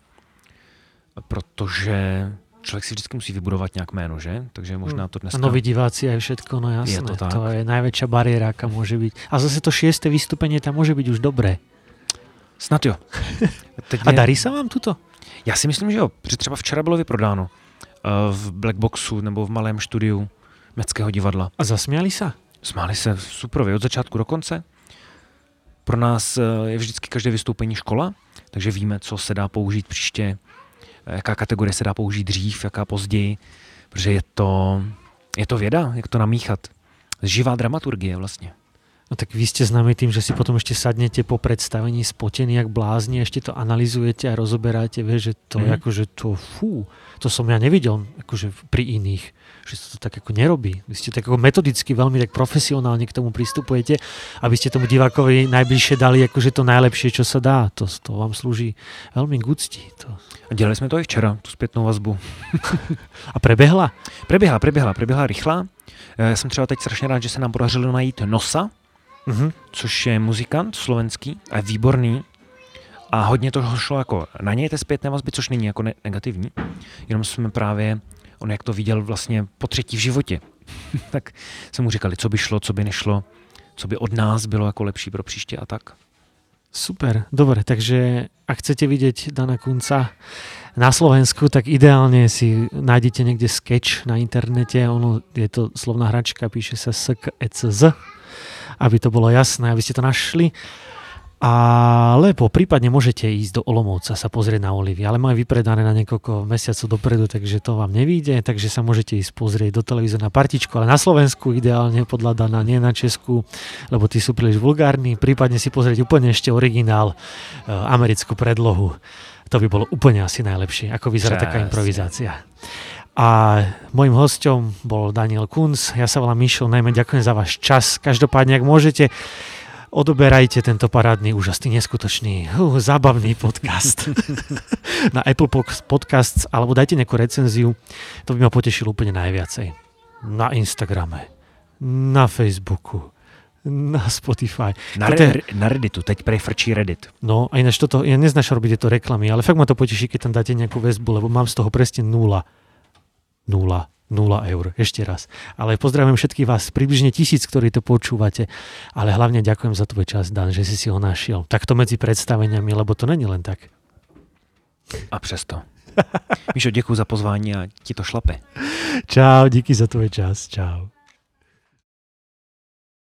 protože člověk si vždycky musí vybudovat nějak jméno, že? Takže možná to dneska... Noví diváci aj všetko, no jasné. Je to tak. To je najväčšia bariéra, aká môže byť. A zase to šieste vystúpenie tam môže byť už dobré. Snad jo. A darí sa vám tuto? Já si myslím, že jo. Protože třeba včera bylo vyprodáno v Blackboxu nebo v malém studiu Městského divadla. A zasmiali sa? Smáli se super, od začátku do konce. Pro nás je vždycky každé vystoupení škola, takže víme, co se dá použít příště, jaká kategorie se dá použít dřív, jaká později, protože je to, je to věda, jak to namíchat. Živá dramaturgie vlastně. No tak vy ste známi tým, že si potom ešte sadnete po predstavení spotení jak blázni, ešte to analyzujete a rozoberáte, vieš, že to mm. akože to, fú, to som ja nevidel akože pri iných, že sa to tak ako nerobí. Vy ste tak ako metodicky, veľmi tak profesionálne k tomu pristupujete, aby ste tomu divákovi najbližšie dali akože to najlepšie, čo sa dá. To, to vám slúži veľmi k úcti. To... A dělali jsme to i včera, tu zpětnou vazbu. A prebehla? Preběhla, preběhla, preběhla rychlá. Já jsem třeba teď strašně rád, že se nám podařilo najít Nosa, mm-hmm. což je muzikant slovenský a je výborný. A hodně toho šlo jako na něj té zpětné vazby, což není jako ne- negativní. Jenom jsme právě, on jak to viděl vlastně po třetí v životě, tak jsme mu říkali, co by šlo, co by nešlo, co by od nás bylo jako lepší pro příště a tak. Super, dobre, takže ak chcete vidieť Dana Kunca na Slovensku, tak ideálne si nájdete niekde Sketch na internete, ono je to slovná hračka, píše sa S K E C Z, aby to bolo jasné, aby ste to našli. Alebo prípadne môžete ísť do Olomouca sa pozrieť na Olivy, ale majú vypredané na niekoľko mesiacov dopredu, takže to vám nevíde, takže sa môžete ísť pozrieť do televízora na partičku, ale na Slovensku ideálne podľa Dana, nie na Česku, lebo tí sú príliš vulgárni, prípadne si pozrieť úplne ešte originál, americkú predlohu. To by bolo úplne asi najlepšie, ako vyzerá Přesne. taká improvizácia. A môjim hosťom bol Daniel Kunc, ja sa volám Mišo, najmä ďakujem za váš čas. Každopádne, ak môžete, odoberajte tento parádny, úžasný, neskutočný, uh, zábavný podcast na Apple Podcasts, alebo dajte nejakú recenziu, to by ma potešilo úplne najviacej. Na Instagrame, na Facebooku, na Spotify. Na, re- na Redditu, teď prefrčí Reddit. No a ináč toto, ja neznášam robiť tieto reklamy, ale fakt ma to poteší, keď tam dáte nejakú väzbu, lebo mám z toho presne nula. Nula. Nula eur. Ešte raz. Ale pozdravujem všetkých vás, približne tisíc, ktorí to počúvate. Ale hlavne ďakujem za tvoj čas, Dan, že si si ho našiel. Takto medzi predstaveniami, lebo to není len tak. A přesto. Míšo, děkuji za pozvání a ti to šlape. Čau, díky za tvoj čas. Čau.